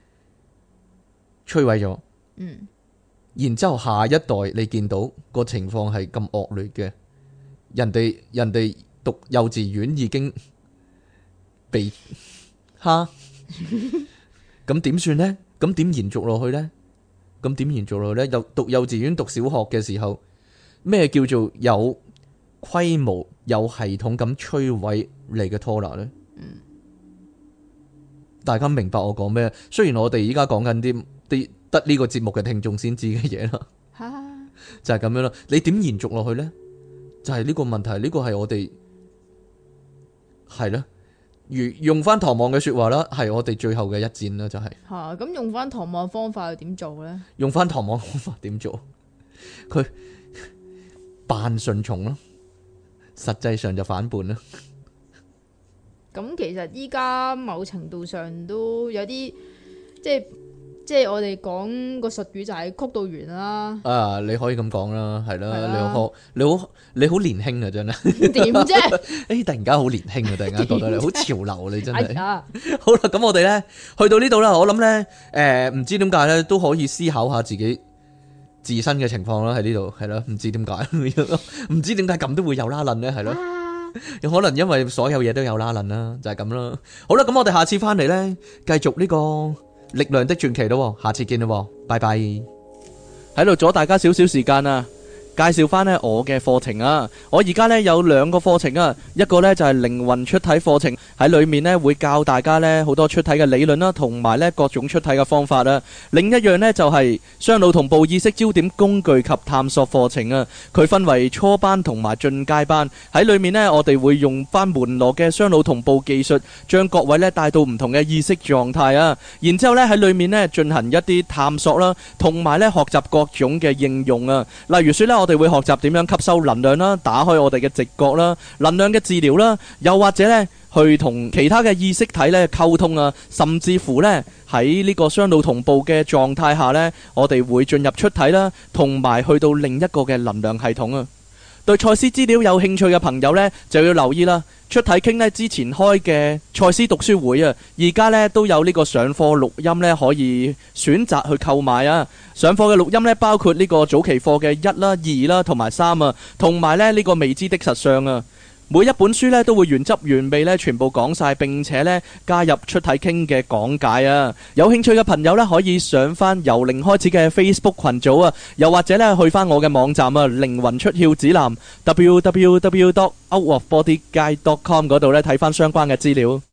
摧毀咗， 嗯然之後下一代你見到個情況係咁惡劣嘅，人哋人哋讀幼稚園已經被蝦，咁點算呢？咁點延續落去呢？咁點延續落去呢？又讀幼稚園讀小學嘅時候，咩叫做有規模、有系統咁摧毀你嘅 Tora 呢？ 嗯大家明白我講咩？雖然我哋依家講緊啲啲得呢個節目嘅聽眾先知嘅嘢啦， 嚇就係咁樣啦。你點延續落去呢？就係呢個問題，呢個係我哋係啦。如用翻唐望嘅說話啦，係我哋最後嘅一戰啦，就係嚇，咁用翻唐望方法又點做咧？ 用翻唐望方法點做？佢扮順從咯，實際上就反叛啦。 咁其實依家某程度上都有啲即係即係我哋講個術語就係曲到圓啦。 啊，你可以咁講啦，係啦， 係啦你好，你好，你好年輕啊，真係。 點啫？ 誒，突然間好年輕啊！突然間覺得你好潮流，你真係。 哎呀， 好啦，咁我哋咧去到呢度啦，我諗咧，誒，唔知點解咧都可以思考下自己自身嘅情況啦，喺呢度係啦，唔知點解，唔知點解咁都會有拉楞咧，係咯，有可能因為所有嘢都有拉楞啦，就係咁啦。好啦，咁我哋下次翻嚟咧，繼續呢個力量的傳奇咯，下次見啦，拜拜。喺度阻大家少少時間啊！介紹翻呢我嘅課程啊！我而家呢有兩個課程啊，一個呢就係靈魂出體課程，喺裏面呢會教大家呢好多出體嘅理論啦，同埋呢各種出體嘅方法啊。另一樣呢就係雙腦同步意識焦點工具及探索課程啊。佢分為初班同埋進階班，喺裏面呢我哋會用翻門羅嘅雙腦同步技術，將各位呢帶到唔同嘅意識狀態啊。然之後呢喺裏面呢進行一啲探索啦，同埋呢學習各種嘅應用啊。例如說呢。我哋會學習點樣吸收能量啦，打開我哋嘅直覺啦，能量嘅治療啦，又或者呢去同其他嘅意識體呢溝通啊，甚至乎呢喺呢個雙腦同步嘅狀態下呢，我哋會進入出體啦，同埋去到另一個嘅能量系統啊。對賽斯資料有興趣嘅朋友呢，就要留意啦。出體傾呢之前開嘅賽斯讀書會啊，而家呢都有呢個上課錄音呢，可以選擇去購買啊。上課嘅錄音呢，包括呢個早期課嘅一啦、二啦同埋三啊，同埋呢呢個未知的實相啊。每一本書呢都會原汁原味呢全部講晒，並且呢加入出體傾嘅講解啊。有興趣嘅朋友呢，可以上翻由零開始嘅 Facebook 群組啊，又或者呢去翻我嘅網站啊，靈魂出竅指南 w w w dot out of body guide dot com 嗰度呢睇翻相關嘅資料。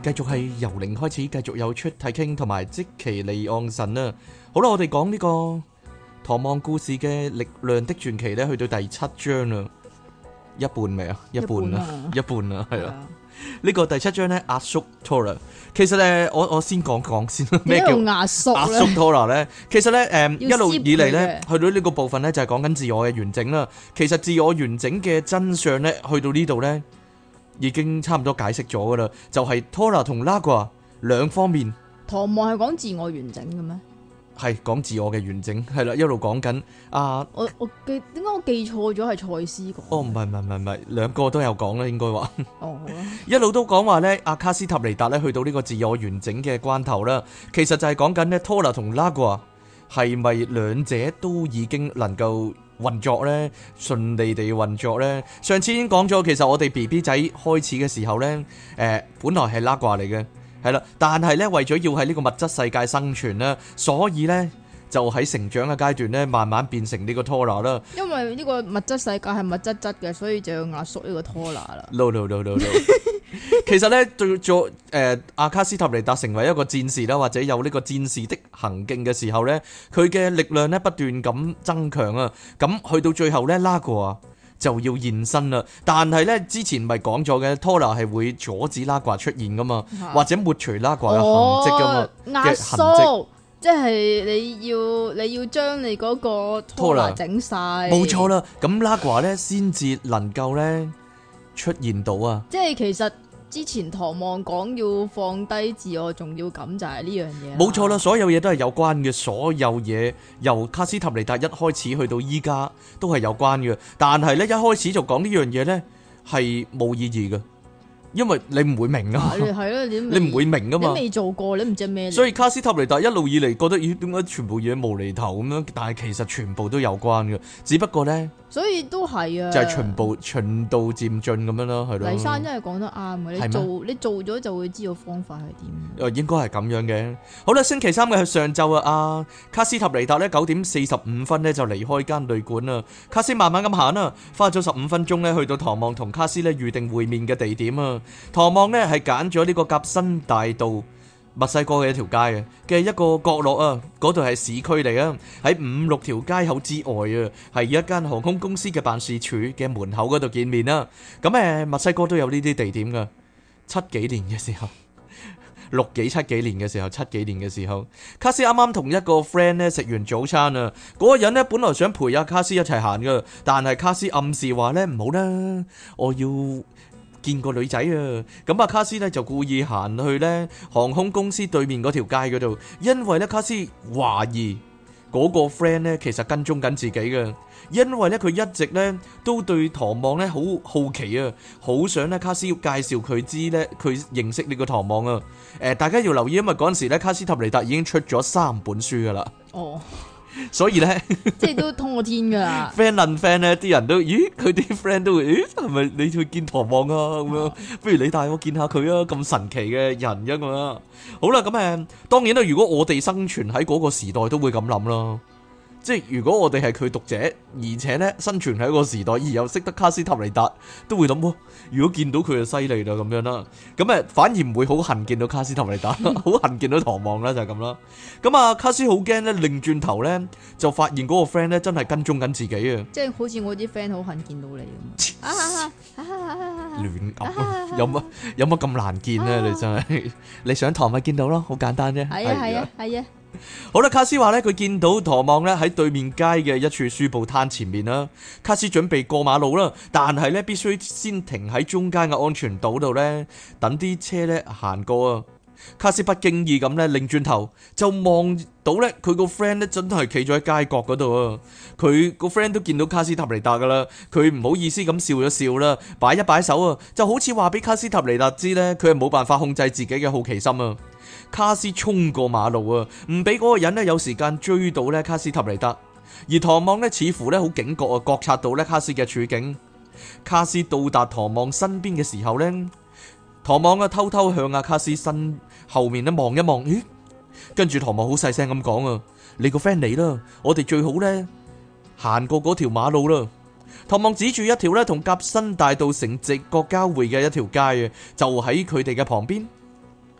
繼續係由零開始，繼續有出體傾同埋即其利昂神啊！好啦，我哋講呢個《唐望故事》嘅力量的傳奇咧，去到第七章啦，一半未啊？一半啦，一半啦，係啊！呢個第七章咧，壓縮 Tora。其實咧，我我先講講先，咩叫壓縮壓縮 Tora 咧？其實咧，誒一路以嚟咧， 要去到呢個部分咧，就係講緊自我嘅完整啦。其實自我完整嘅真相咧，去到呢度咧，已經差唔多解釋咗噶啦，就係 Tora 同 Nagual 兩方面。 唐望係講自我完整嘅咩？ 係講自我嘅完整，係啦，一路講緊啊。 我我記點解我記錯咗係賽斯講？ 哦，唔係唔係唔係唔係，兩個都有講啦，應該話。 哦，好啦， 一路都講話咧，阿卡斯塔尼達咧去到呢個自我完整嘅關頭啦，其實就係講緊咧 Tora 同 Nagual係咪兩者都已經能夠運作咧，順利地運作咧？上次已經講咗，其實我哋 B B 仔開始嘅時候咧，誒、呃，本來係 Nagual 嚟嘅。係啦，但係咧為咗要喺呢個物質世界生存啦，所以咧就喺成長嘅階段咧，慢慢變成呢個 Tora 啦。 因為呢個物質世界係物質質嘅，所以就要壓縮呢個 Tora 啦。 No no no no no。其實咧，做做誒阿卡斯塔尼達成為一個戰士啦，或者有呢個戰士的行徑嘅時候咧，佢嘅力量咧不斷咁增強啊。咁去到最後咧，Nagual就要現身啦，但係咧之前咪講咗嘅 Tora 係會阻止Nagual出現噶嘛，啊、或者抹除Nagual嘅痕跡噶嘛， 壓縮即係你要你要將你嗰個 Tora 整晒， 冇錯啦。咁Nagual咧先至能夠咧出現到啊。即係其實之前唐望講要放低自我重要感就係呢樣嘢。 冇錯啦，所有嘢都係有關嘅，所有嘢由卡斯塔尼達一開始去到依家都係有關嘅。但係咧一開始就講呢樣嘢咧係冇意義嘅，因為你唔會明啊。係咯，你你唔會明噶嘛， 你未做過，你唔知咩。 所以卡斯塔尼達一路以嚟覺得咦，點解全部嘢無厘頭咁樣？但係其實全部都有關嘅，只不過咧。 所以都係啊， 就係循步循道漸進咁樣咯，係咯。黎山真係講得啱嘅，你做你做咗就會知道方法係點。 誒，應該係咁樣嘅。好啦，星期三嘅上晝啊，阿卡斯塔尼達咧九點四十五分咧就離開間旅館啦。卡斯慢慢咁行啦，花咗十五分鐘咧去到唐望同卡斯咧預定會面嘅地點啊。唐望咧係揀咗呢個夾新大道。墨西哥嘅一條街啊嘅一個角落啊，嗰度係市區嚟啊，喺五六條街口之外啊，係一間航空公司嘅辦事處嘅門口嗰度見面啦。咁誒，墨西哥都有呢啲地點噶，七幾年嘅時候，六幾七幾年嘅時候，七幾年嘅時候，卡斯啱啱同一個 friend 咧食完早餐啊，嗰個人咧本來想陪阿卡斯一齊行噶，但係卡斯暗示話咧唔好啦，我要見個女仔啊，咁阿卡斯咧就故意行去咧航空公司對面嗰條街嗰度，因為咧卡斯懷疑嗰個 friend 咧其實跟蹤緊自己嘅，因為咧佢一直咧都對唐望咧好好奇啊，好想咧卡斯要介紹佢知咧佢認識呢個唐望啊。誒，大家要留意，因為嗰陣時咧卡斯塔尼達已經出咗三本書噶啦。哦。所以咧， 即係都通過天噶啦。 friend 論 friend 咧，啲人都，咦？佢啲 friend 都會，咦？係咪你去見唐望啊？咁樣，不如你帶我見下佢啊！咁神奇嘅人咁樣。好啦，咁誒，當然啦，如果我哋生存喺嗰個時代，都會咁諗啦。即係如果我哋係佢讀者，而且咧生存喺一個時代，而又識得卡斯塔尼達，都會諗喎。如果見到佢就犀利啦，咁樣啦。咁誒，反而唔會好恨見到卡斯塔尼達，好恨見到唐望啦，就係咁啦。咁啊，卡斯好驚咧，擰轉頭咧就發現嗰個 friend 咧真係跟蹤緊自己啊！ 即係好似我啲 friend 好恨見到你咁。 亂噏，有乜有乜咁難見咧？你真係你上堂咪見到咯，好簡單啫。 係啊係啊係啊。 好啦，卡斯話咧，佢見到唐望咧喺對面街嘅一處書報攤前面啦。卡斯準備過馬路啦，但係咧必須先停喺中間嘅安全島度咧，等啲車咧行過啊。卡斯不經意咁咧擰轉頭，就望到咧佢個 friend 咧真係企咗喺街角嗰度啊。佢個 friend 都見到卡斯塔尼達噶啦，佢唔好意思咁笑咗笑啦，擺一擺手啊，就好似話俾卡斯塔尼達知咧，佢係冇辦法控制自己嘅好奇心啊。卡斯衝過馬路啊，唔俾嗰個人咧有時間追到咧卡斯塔尼達，而唐望咧似乎咧好警覺啊，覺察到咧卡斯嘅處境。卡斯到達唐望身邊嘅時候咧，唐望啊偷偷向阿卡斯身後面咧望一望，咦？跟住唐望好細聲咁講啊，你個 friend 嚟啦，我哋最好咧行過嗰條馬路啦。唐望指住一條咧同夾新大道成直角交匯嘅一條街啊，就喺佢哋嘅旁邊。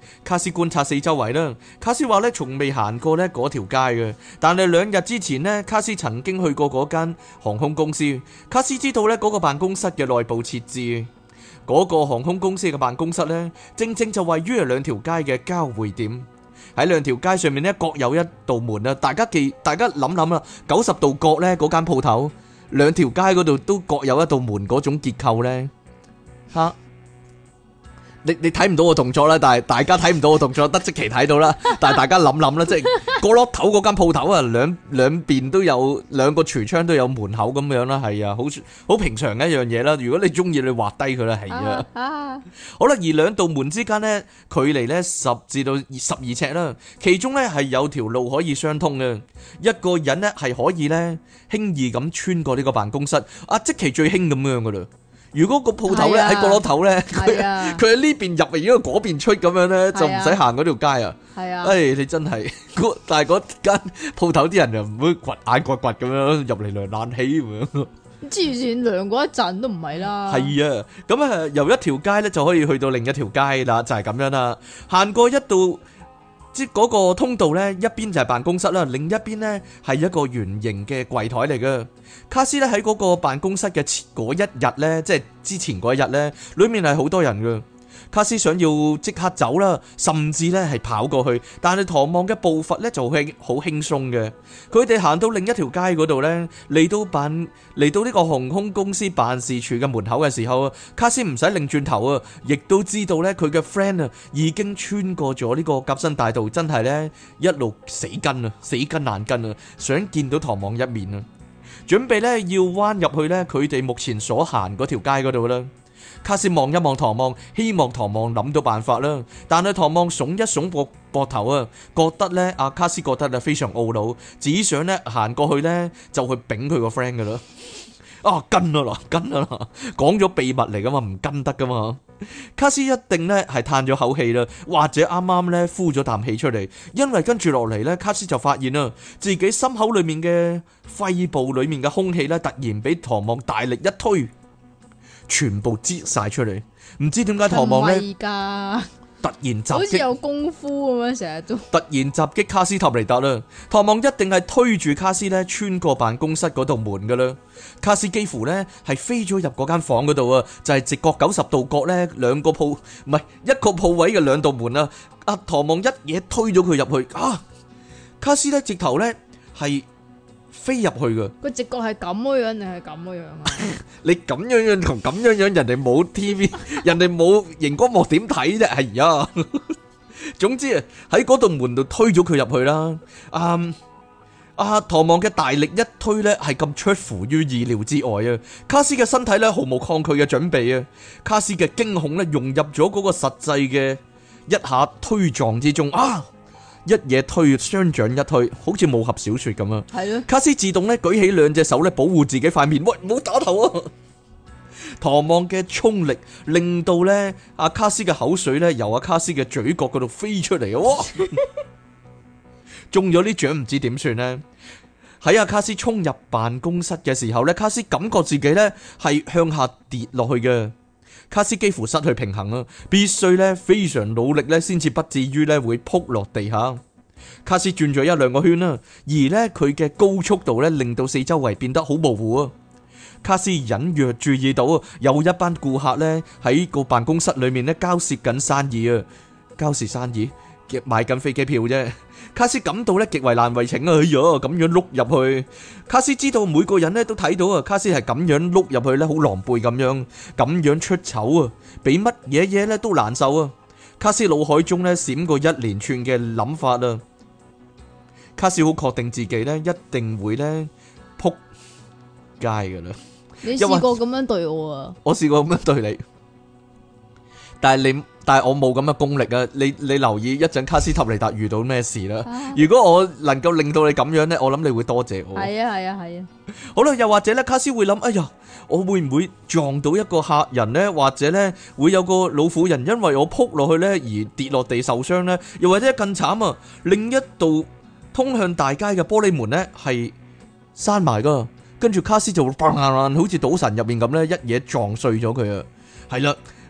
卡斯觀察四周圍啦，卡斯話咧從未行過咧嗰條街嘅，但係兩日之前呢，卡斯曾經去過嗰間航空公司。卡斯知道咧嗰個辦公室嘅內部設置，嗰個航空公司嘅辦公室呢，正正就位於兩條街嘅交匯點。喺兩條街上面呢，各有一道門啊！大家記，大家諗諗啦，九十度角呢嗰間鋪頭，兩條街嗰度都各有一道門嗰種結構呢。吓。你你睇唔到我動作啦，但係大家睇唔到我動作，得即期睇到啦。但係大家諗諗啦，即係角落頭嗰間鋪頭啊，兩兩邊都有兩個櫥窗都有門口咁樣啦，係啊，好好平常嘅一樣嘢啦。如果你中意，你畫低佢啦，係啊。啊好啦，而兩道門之間呢，距離呢十至到十二尺啦，其中呢係有條路可以相通嘅，一個人呢係可以呢輕易咁穿過呢個辦公室。啊，即期最興咁樣噶啦。如果個鋪頭咧喺角落頭咧，佢佢喺呢邊入嚟，如果嗰邊出咁樣咧，就唔使行嗰條街啊！係啊，誒，你真係，但係嗰間鋪頭啲人就唔會掘眼掘掘咁樣入嚟涼冷氣咁樣。 之前涼過一陣都唔係啦。 係啊，咁啊由一條街咧就可以去到另一條街啦，就係咁樣啦。行過一道即嗰個通道咧，一邊就係辦公室啦，另一邊咧係一個圓形嘅櫃台嚟嘅。卡斯咧喺嗰個辦公室嘅前嗰一日咧，即係之前嗰一日咧，裏面係好多人嘅。卡斯想要即刻走啦，甚至咧係跑過去，但係唐望嘅步伐咧就係好輕鬆嘅。佢哋行到另一條街嗰度咧，嚟到辦嚟到呢個航空公司辦事處嘅門口嘅時候，卡斯唔使擰轉頭啊，亦都知道咧佢嘅 friend 啊已經穿過咗呢個革新大道，真係咧一路死跟啊，死跟爛跟啊，想見到唐望一面啊，準備咧要彎入去咧佢哋目前所行嗰條街嗰度啦。卡斯望一望唐望，希望唐望諗到辦法啦。但係唐望聳一聳膊膊頭啊，覺得咧阿卡斯覺得咧非常懊惱，只想咧行過去咧就去丙佢個 friend 噶啦。啊跟啊啦，跟啊啦，講咗秘密嚟噶嘛，唔跟得噶嘛。卡斯一定咧係嘆咗口氣啦，或者啱啱咧呼咗啖氣出嚟，因為跟住落嚟咧，卡斯就發現啦，自己心口裏面嘅肺部裏面嘅空氣咧，突然俾唐望大力一推。全部擠晒出嚟，唔知點解唐望咧突然襲擊， 好似有功夫咁樣，成日都突然襲擊卡斯塔尼達啦。唐望一定係推住卡斯咧穿過辦公室嗰道門噶啦。卡斯幾乎咧係飛咗入嗰間房嗰度啊，就係、是、直角九十度角咧兩個鋪唔係一個鋪位嘅兩道門啊。阿唐望一嘢推咗佢入去啊！卡斯咧直頭咧係。飛入去噶， 個直覺係咁嘅樣定係咁嘅樣啊？ 你咁樣樣同咁樣樣，人哋冇 T V， 人哋冇熒光幕點睇啫？係啊，總之啊，喺嗰道門度推咗佢入去啦。啊啊，唐望嘅大力一推咧，係咁出乎於意料之外啊！卡斯嘅身體咧毫無抗拒嘅準備啊！卡斯嘅驚恐咧融入咗嗰個實際嘅一下推撞之中啊！一嘢推，雙掌一推，好似武俠小說咁啊！係咯，卡斯自動咧舉起兩隻手咧保護自己塊面，喂，唔好打頭啊！唐望嘅衝力令到咧阿卡斯嘅口水咧由阿卡斯嘅嘴角嗰度飛出嚟啊！哇，中咗啲獎唔知點算呢？喺阿卡斯衝入辦公室嘅時候咧，卡斯感覺自己咧係向下跌落去嘅。卡斯幾乎失去平衡啊！必須咧非常努力咧，先至不至於咧會撲落地下。卡斯轉咗一兩個圈啦，而咧佢嘅高速度咧令到四周圍變得好模糊啊！卡斯隱約注意到啊，有一班顧客咧喺個辦公室裏面咧交涉緊生意啊，交涉生意，買緊飛機票啫。卡斯感到咧極為難為情啊！哎呀，咁樣碌入去，卡斯知道每個人咧都睇到啊，卡斯係咁樣碌入去咧，好狼狽咁樣，咁樣出醜啊，比乜嘢嘢咧都難受啊！卡斯腦海中咧閃過一連串嘅諗法啊！卡斯好確定自己咧一定會咧撲街噶啦！ 你試過咁樣對我啊？ 我試過咁樣對你，但係你。但係我冇咁嘅功力啊！你你留意一陣卡斯塔尼達遇到咩事啦？啊、如果我能夠令到你咁樣呢，我諗你會多謝我。係啊係啊係啊！好啦，又或者咧，卡斯會諗：哎呀，我會唔會撞到一個客人呢？或者呢，會有個老婦人因為我撲落去呢而跌落地受傷呢？又或者更慘啊！另一道通向大街嘅玻璃門呢係閂埋噶，跟住卡斯就會砰砰砰好似賭神入面咁呢，一嘢撞碎咗佢啊！係啦。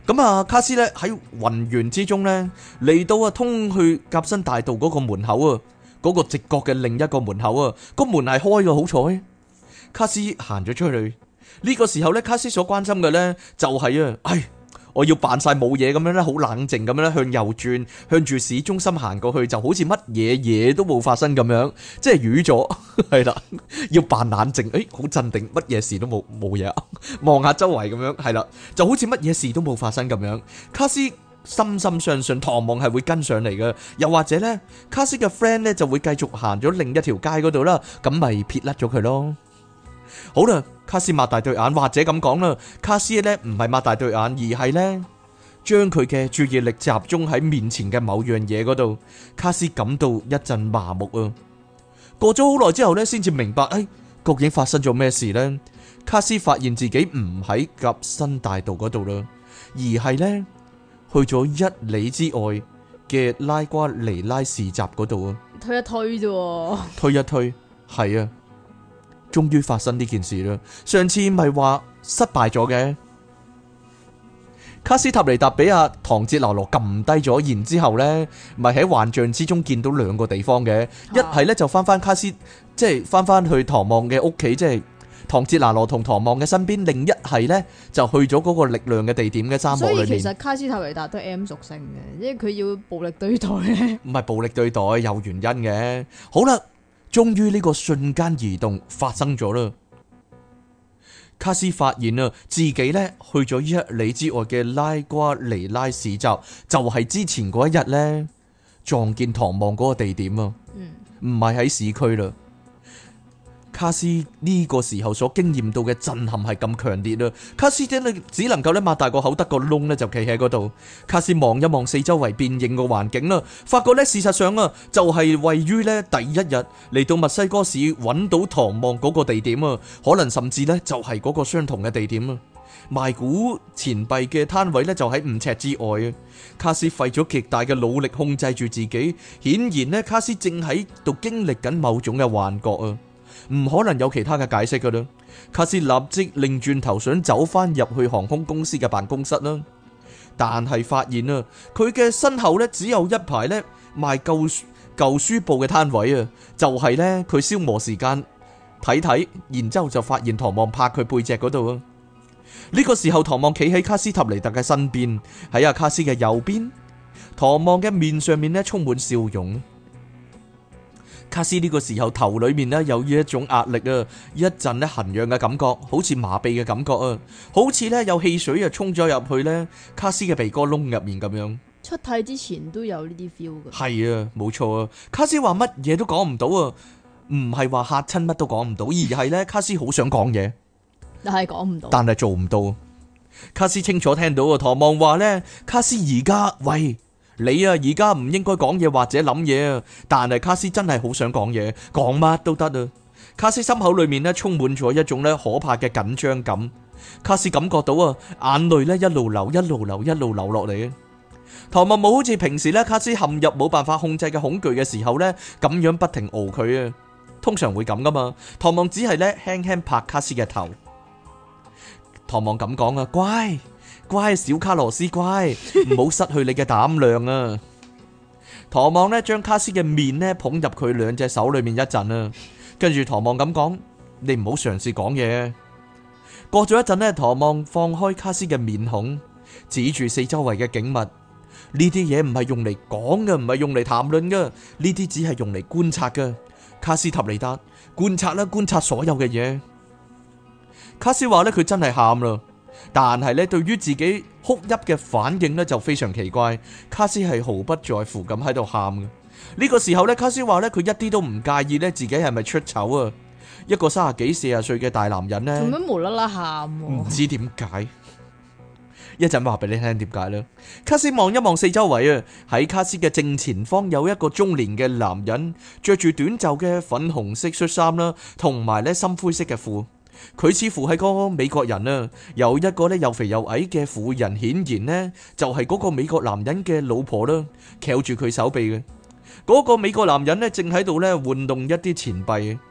咁啊，卡斯咧喺雲源之中咧嚟到啊通去甲新大道嗰個門口啊，嗰、嗰個直角嘅另一個門口啊，個門係開嘅，好彩。卡斯行咗出去，呢、呢個時候咧，卡斯所關心嘅咧就係、是、啊，唉，我要扮晒冇嘢咁樣咧，好冷靜咁樣咧向右轉，向住市中心行過去，就好似乜嘢嘢都冇發生咁樣，即係瘀咗，係啦，要扮冷靜，誒，好鎮定，乜嘢事都冇冇嘢啊，望下周圍咁樣，係啦，就好似乜嘢事都冇發生咁樣。卡斯深深相信唐望係會跟上嚟嘅，又或者咧，卡斯嘅 friend 咧就會繼續行咗另一條街嗰度啦，咁咪撇甩咗佢咯。好啦，卡斯擘大對眼，或者咁講啦，卡斯咧唔係擘大對眼，而係咧將佢嘅注意力集中喺面前嘅某樣嘢嗰度。卡斯感到一陣麻木啊。過咗好耐之後咧，先至明白，誒，究竟發生咗咩事呢？卡斯發現自己唔喺甲新大道嗰度啦，而係咧去咗一里之外嘅拉瓜尼拉市集嗰度啊。 推一推啫， 推一推，係啊。終於發生呢件事啦！上次咪話失敗咗嘅，卡斯塔尼達俾阿唐哲拿羅撳低咗，然之後咧，咪喺幻象之中見到兩個地方嘅，一係咧就翻翻卡斯，即係翻翻去唐望嘅屋企，即係唐哲拿羅同唐望嘅身邊；另一係咧就去咗嗰個力量嘅地點嘅沙漠裏面。 所以其實卡斯塔尼達都係 M 屬性嘅，因為佢要暴力對待咧。唔係暴力對待，有原因嘅。好啦。終於呢個瞬間移動發生咗啦！卡斯發現啊，自己咧去咗一里之外嘅拉瓜尼拉市集，就係、是、之前嗰一日咧撞見唐望嗰個地點啊，唔係喺市區啦。卡斯呢個時候所經驗到嘅震撼係咁強烈啊！卡斯真係只能夠咧擘大個口得個窿咧就企喺嗰度。卡斯望一望四周圍變形嘅環境啦，發覺咧事實上啊就係位於咧第一日嚟到墨西哥市揾到唐望嗰個地點啊，可能甚至咧就係嗰個相同嘅地點啊。賣古錢幣嘅攤位咧就喺五尺之外啊。卡斯費咗極大嘅努力控制住自己，顯然咧卡斯正喺度經歷緊某種嘅幻覺啊。唔可能有其他嘅解釋噶啦。卡斯立即擰轉頭想走翻入去航空公司嘅辦公室啦，但係發現啊，佢嘅身後咧只有一排咧賣舊舊書報嘅攤位啊，就係咧佢消磨時間睇睇，然之後就發現唐望拍佢背脊嗰度啊。呢個時候，唐望企喺卡斯塔尼達嘅身邊，喺阿卡斯嘅右邊。唐望嘅面上面咧充滿笑容。卡斯呢個時候頭裏面咧有一種壓力啊，一陣咧痕癢嘅感覺，好似麻痹嘅感覺啊，好似咧有汽水啊沖咗入去咧卡斯嘅鼻哥窿入面咁樣。 出體之前都有呢啲 feel 嘅。係啊，冇錯啊。卡斯話乜嘢都講唔到啊，唔係話嚇親乜都講唔到，而係咧卡斯好想講嘢， 但係講唔到， 但係做唔到。卡斯清楚聽到啊，唐望話咧，卡斯而家喂。你啊，而家唔應該講嘢或者諗嘢啊，但係卡斯真係好想講嘢，講乜都得啊。卡斯心口裏面咧充滿咗一種咧可怕嘅緊張感。卡斯感覺到啊，眼淚咧一路流一路流一路流落嚟啊。唐望冇好似平時咧卡斯陷入冇辦法控制嘅恐懼嘅時候咧咁樣不停熬佢啊，通常會咁噶嘛。唐望只係咧輕輕拍卡斯嘅頭。唐望咁講啊，乖。乖，小卡羅斯，乖，唔好失去你嘅膽量啊！唐望呢將卡斯嘅面呢捧入佢兩隻手裏面一陣啊，跟住唐望咁講：你唔好嘗試講嘢。過咗一陣呢，唐望放開卡斯嘅面孔，指住四周圍嘅景物。呢啲嘢唔係用嚟講嘅，唔係用嚟談論嘅，呢啲只係用嚟觀察嘅。卡斯塔尼達，觀察啦，觀察所有嘅嘢。卡斯話呢，佢真係喊啦。但係咧，對於自己哭泣嘅反應咧，就非常奇怪。卡斯係毫不在乎咁喺度喊嘅。呢個時候咧，卡斯話咧，佢一啲都唔介意咧，自己係咪出醜啊？一個三十幾、四十歲嘅大男人咧， 做咩無啦啦喊？ 唔知點解。一陣話俾你聽點解咧。卡斯望一望四周圍啊，喺卡斯嘅正前方有一個中年嘅男人，着住短袖嘅粉紅色恤衫啦，同埋咧深灰色嘅褲。佢似乎係個美國人啊，有一個咧又肥又矮嘅婦人，顯然呢就係嗰個美國男人嘅老婆啦，翹住佢手臂嘅。嗰個美國男人呢正喺度咧玩弄一啲錢幣。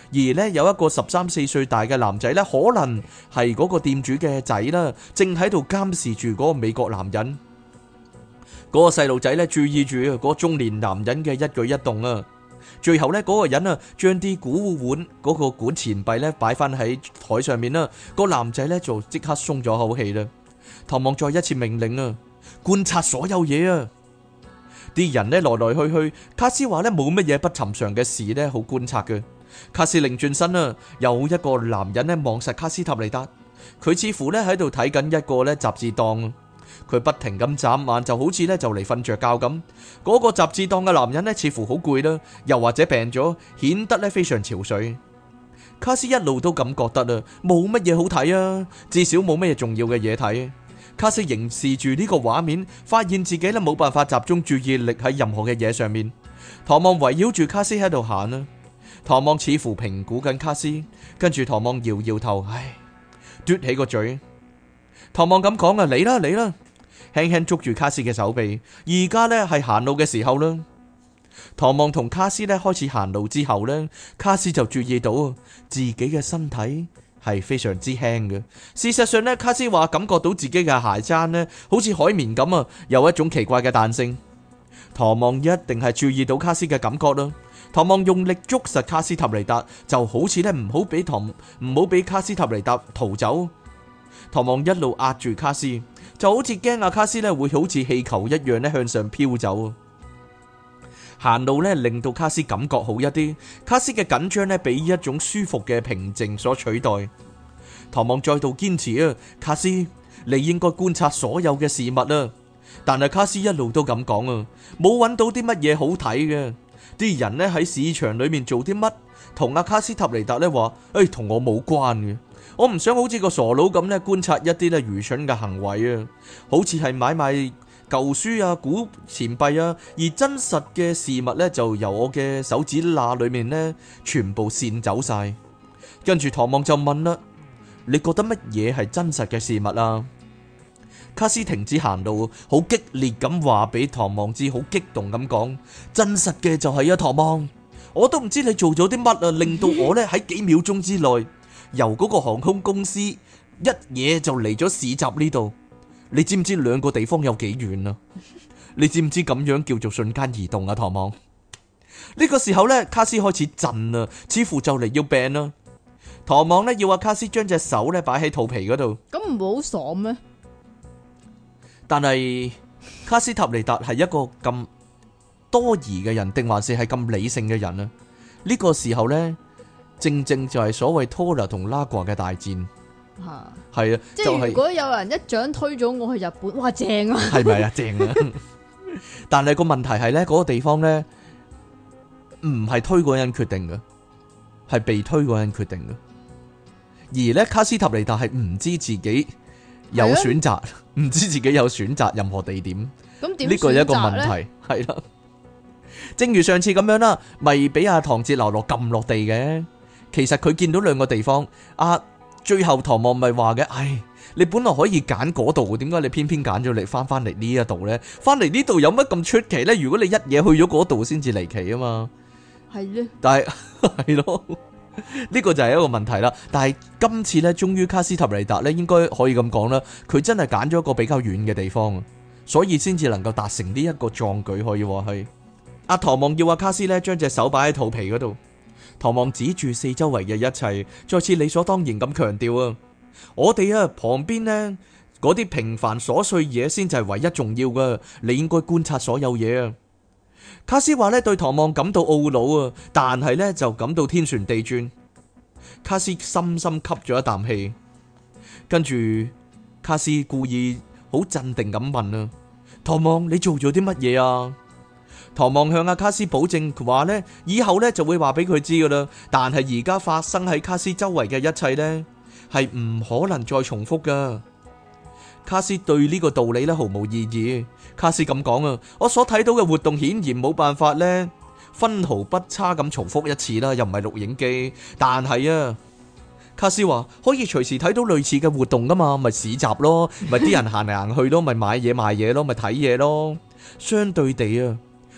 而呢，有一個十三四歲大嘅男仔呢，可能係嗰個店主嘅仔啦，正喺度監視住嗰個美國男人。嗰個細路仔呢，注意住嗰個中年男人嘅一舉一動啊。最後呢，嗰個人啊，將啲古碗嗰個管錢幣呢擺翻喺台上面啦。個男仔呢就即刻鬆咗口氣啦。唐望再一次命令啊，觀察所有嘢啊。啲人呢來來去去，卡斯話呢冇乜嘢不尋常嘅事呢好觀察嘅。卡斯擰轉身啊，有一個男人呢望實卡斯塔尼達，佢似乎呢喺度睇緊一個呢雜誌檔。佢不停咁眨眼，就好似呢就嚟瞓着覺咁。嗰個雜誌檔嘅男人呢似乎好攰啦，又或者病咗，顯得呢非常憔悴。卡斯一路都咁覺得啊，冇乜嘢好睇啊，至少冇乜嘢重要嘅嘢睇。卡斯凝視住呢個畫面，發現自己呢冇辦法集中注意力喺任何嘅嘢上面。唐望圍繞住卡斯喺度行啊，唐望似乎評估緊卡斯，跟住唐望搖搖頭，唉，嘟起個嘴。唐望咁講啊，嚟啦嚟啦，輕輕捉住卡斯嘅手臂。而家呢係行路嘅時候啦。唐望同卡斯呢開始行路之後呢，卡斯就注意到自己嘅身體係非常之輕嘅。事實上呢，卡斯話感覺到自己嘅鞋踭呢好似海綿咁啊，有一種奇怪嘅彈性。唐望一定係注意到卡斯嘅感覺啦。唐望用力捉實卡斯塔尼達，就好似呢唔好俾唐唔好俾卡斯塔尼達逃走。唐望一路壓住卡斯，就好似驚阿卡斯呢會好似氣球一樣呢向上飄走。行路呢令到卡斯感覺好一啲，卡斯嘅緊張呢俾一種舒服嘅平靜所取代。唐望再度堅持啊，卡斯，你應該觀察所有嘅事物啊。但係卡斯一路都咁講啊，冇揾到啲乜嘢好睇嘅。啲人呢喺市場裏面做啲乜，同阿卡斯塔尼達呢話，誒，同我冇關嘅。我唔想好似個傻佬咁呢觀察一啲呢愚蠢嘅行為啊，好似係買賣舊書啊、古錢幣啊，而真實嘅事物呢，就由我嘅手指罅裏面呢全部濺走晒。跟住唐望就問啦，你覺得乜嘢係真實嘅事物啊？卡斯停止行路，好激烈咁話俾唐望知，好激動咁講，真實嘅就係啊，唐望，我都唔知你做咗啲乜啊，令到我呢喺幾秒鐘之內由嗰個航空公司一嘢就嚟咗市集呢度。你知唔知兩個地方有幾遠啊？你知唔知咁樣叫做瞬間移動啊？唐望呢個時候呢，卡斯開始震啦，似乎就嚟要病啦。唐望呢要阿卡斯將隻手呢擺喺肚皮嗰度， 咁唔會好爽咩？ 但係卡斯塔尼達係一個咁多疑嘅人，定還是係咁理性嘅人啊？呢個時候呢，正正就係所謂托拉同拉掛嘅大戰。 吓， 係啊， 即就係係如果有人一掌推咗我去日本，哇正啊！ 係咪啊？正啊！但係個問題係呢，嗰個地方呢，唔係推嗰個人決定嘅，係被推嗰個人決定嘅。而呢，卡斯塔尼達係唔知自己有選擇，唔知自己有選擇任何地點。 咁點？ 呢個係一個問題，係啦。正如上次咁樣啦，咪俾阿唐哲流落撳落地嘅。其實佢見到兩個地方，阿最後唐望咪話嘅，唉，你本來可以揀嗰度，點解你偏偏揀咗嚟翻翻嚟呢一度呢？翻嚟呢度有乜咁出奇呢？如果你一嘢去咗嗰度先至離奇啊嘛。係咧。但係係咯。呢個就係一個問題啦，但係今次呢，終於卡斯塔尼達呢，應該可以咁講啦，佢真係揀咗一個比較遠嘅地方，所以先至能夠達成呢一個壯舉，可以話係。阿唐望要阿卡斯呢將隻手擺喺肚皮嗰度，唐望指住四周圍嘅一切，再次理所當然咁強調啊，我哋啊旁邊呢嗰啲平凡瑣碎嘢先至係唯一重要噶，你應該觀察所有嘢啊。卡斯話咧對唐望感到懊惱啊，但係咧就感到天旋地轉。卡斯深深吸咗一啖氣，跟住卡斯故意好鎮定咁問啊，唐望，你做咗啲乜嘢啊？唐望向阿卡斯保證話咧，以後咧就會話俾佢知噶啦，但係而家發生喺卡斯周圍嘅一切咧係唔可能再重複噶。卡斯對呢個道理咧毫無異議。卡斯咁講啊，我所睇到嘅活動顯然冇辦法咧分毫不差咁重複一次啦，又唔係錄影機。但係啊，卡斯話可以隨時睇到類似嘅活動噶嘛，咪市集咯，咪啲人行嚟行去咯，咪買嘢賣嘢咯，咪睇嘢咯。相對地啊，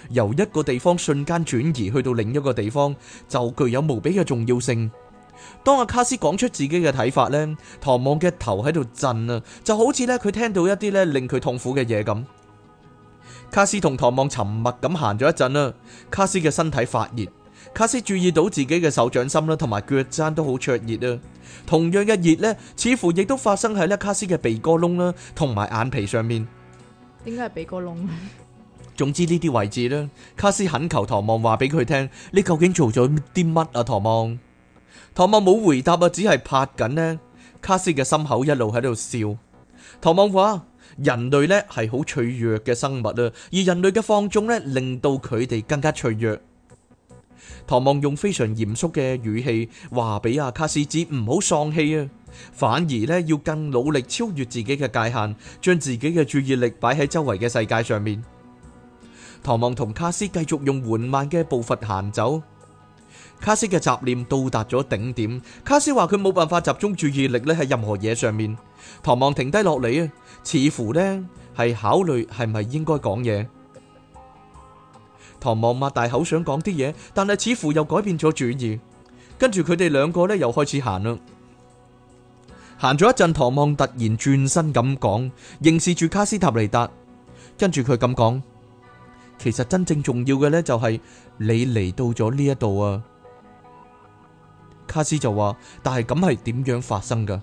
由一個地方瞬間轉移去到另一個地方，就具有無比嘅重要性。當阿卡斯講出自己嘅睇法呢，唐望嘅頭喺度震啊，就好似呢佢聽到一啲呢令佢痛苦嘅嘢咁。卡斯同唐望沉默咁行咗一陣啦，卡斯嘅身體發熱，卡斯注意到自己嘅手掌心啦同埋腳踭都好灼熱啊。同樣嘅熱呢，似乎亦都發生喺呢卡斯嘅鼻哥窿啦同埋眼皮上面。 點解係鼻哥窿？ 總之呢啲位置呢，卡斯懇求唐望話俾佢聽，你究竟做咗啲乜啊？唐望，唐望冇回答啊，只係拍緊呢卡斯嘅心口，一路喺度笑。唐望話：人類呢係好脆弱嘅生物啊，而人類嘅放縱呢，令到佢哋更加脆弱。唐望用非常嚴肅嘅語氣話俾阿卡斯知，唔好喪氣啊，反而呢要更努力超越自己嘅界限，將自己嘅注意力擺喺周圍嘅世界上面。唐望同卡斯繼續用緩慢嘅步伐行走。卡斯嘅雜念到達咗頂點，卡斯話佢冇辦法集中注意力咧喺任何嘢上面。唐望停低落嚟啊，似乎呢係考慮係咪應該講嘢。唐望擘大口想講啲嘢，但係似乎又改變咗主意。跟住佢哋兩個呢又開始行啦。行咗一陣，唐望突然轉身咁講，凝視住卡斯塔尼達。跟住佢咁講：其實真正重要嘅呢，就係你嚟到咗呢一度啊。卡斯就話：但係咁係點樣發生噶？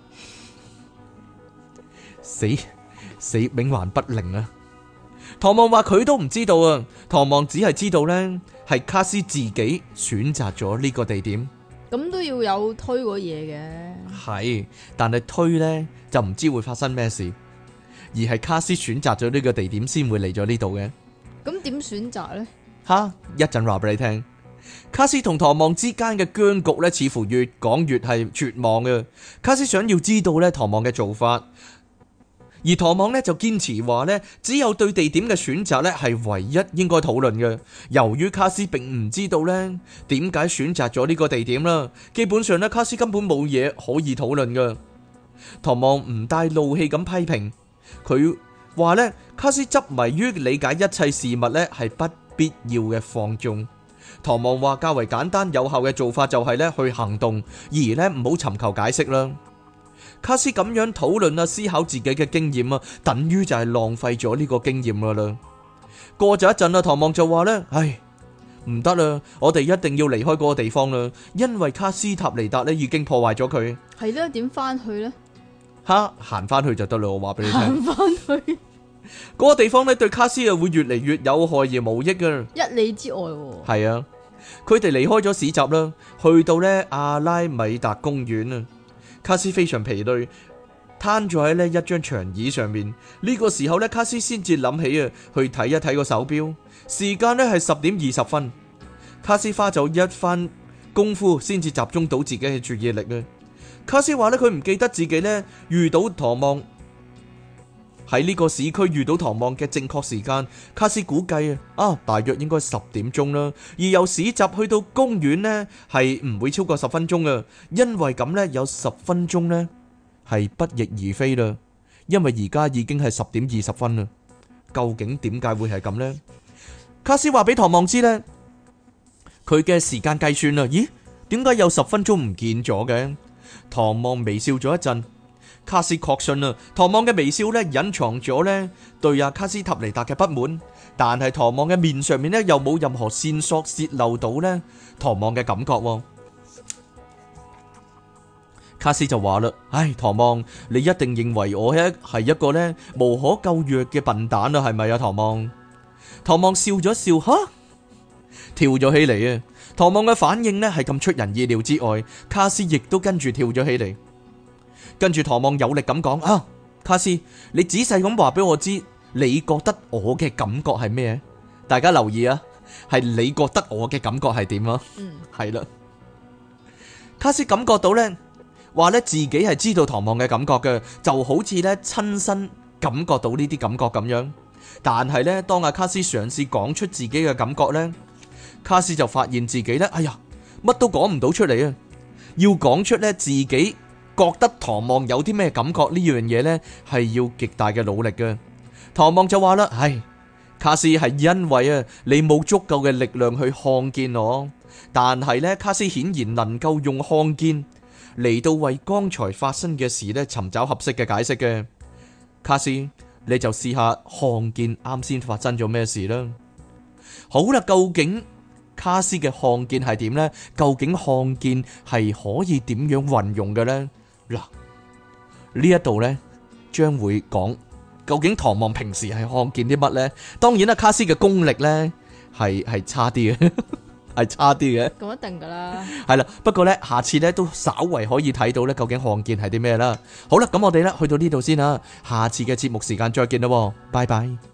死死冥頑不靈啊！唐望話佢都唔知道啊。唐望只係知道呢，係卡斯自己選擇咗呢個地點。 咁都要有推過嘢嘅。 係，但係推呢，就唔知會發生咩事，而係卡斯選擇咗呢個地點先會嚟咗呢度嘅。 咁點選擇呢？ 吓，一陣話俾你聽。卡斯同唐望之間嘅僵局呢，似乎越講越係絕望嘅。卡斯想要知道呢唐望嘅做法，而唐望呢就堅持話呢，只有對地點嘅選擇呢係唯一應該討論嘅。由於卡斯並唔知道呢點解選擇咗呢個地點啦，基本上呢卡斯根本冇嘢可以討論嘅。唐望唔帶怒氣咁批評佢，話呢卡斯執迷於理解一切事物呢係不必要嘅放縱。唐望話較為簡單有效嘅做法就係呢去行動，而呢唔好尋求解釋啦。卡斯咁樣討論啊，思考自己嘅經驗啊，等於就係浪費咗呢個經驗噶啦。過咗一陣啦，唐望就話呢：唉，唔得啦，我哋一定要離開嗰個地方啦，因為卡斯塔尼達呢已經破壞咗佢。 係咧，點翻去呢？ 吓，行翻去就得啦，我話俾你聽。 行翻去嗰個地方呢對卡斯啊會越嚟越有害而無益噶。 一里之外喎。 係啊，佢哋離開咗市集啦，去到呢阿拉米達公園啊。卡斯非常疲累，攤咗喺呢一張長椅上面。呢個時候呢，卡斯先至諗起啊，去睇一睇個手錶，時間呢係十點二十分。卡斯花咗一番功夫先至集中到自己嘅注意力啊。卡斯話呢，佢唔記得自己呢遇到唐望喺呢個市區遇到唐望嘅正確時間。卡斯估計啊，啊大約應該十點鐘啦。而由市集去到公園呢，係唔會超過十分鐘啊。因為咁呢，有十分鐘呢係不翼而飛啦。因為而家已經係十點二十分啦。究竟點解會係咁呢？卡斯話俾唐望知呢，佢嘅時間計算啊，咦，點解有十分鐘唔見咗嘅？唐望微笑咗一陣。卡斯確信啊，唐望嘅微笑咧隱藏咗咧對阿卡斯塔尼達嘅不滿，但係唐望嘅面上面咧又冇任何線索洩漏到咧唐望嘅感覺。卡斯就話啦：唉，唐望，你一定認為我係係一個咧無可救藥嘅笨蛋啊，係咪啊？唐望，唐望笑咗笑，吓，跳咗起嚟啊！唐望嘅反應咧係咁出人意料之外，卡斯亦都跟住跳咗起嚟。跟住唐望有力咁講：啊，卡斯，你仔細咁話俾我知，你覺得我嘅感覺係咩？大家留意啊，係你覺得我嘅感覺係點啊？嗯，係啦。卡斯感覺到呢，話呢自己係知道唐望嘅感覺嘅，就好似呢親身感覺到呢啲感覺咁樣。但係呢，當阿卡斯嘗試講出自己嘅感覺呢，卡斯就發現自己呢，哎呀，乜都講唔到出嚟啊！要講出呢自己覺得唐望有啲咩感覺呢樣嘢呢，係要極大嘅努力嘅。唐望就話啦：唉， 卡斯係因為啊，你冇足夠嘅力量去看見我，但係呢，卡斯顯然能夠用看見嚟到為剛才發生嘅事呢尋找合適嘅解釋嘅。卡斯，你就試下看見啱先發生咗咩事啦。好啦，究竟卡斯嘅看見係點呢？究竟看見係可以點樣運用嘅呢？嗱，呢一度呢，將會講究竟唐望平時係看見啲乜呢？當然啦，卡斯嘅功力呢係係差啲嘅，係差啲嘅。 咁一定噶啦。 係啦，不過呢，下次呢都稍為可以睇到呢，究竟看見係啲咩啦。好啦，咁我哋呢去到呢度先啦，下次嘅節目時間再見啦，拜拜。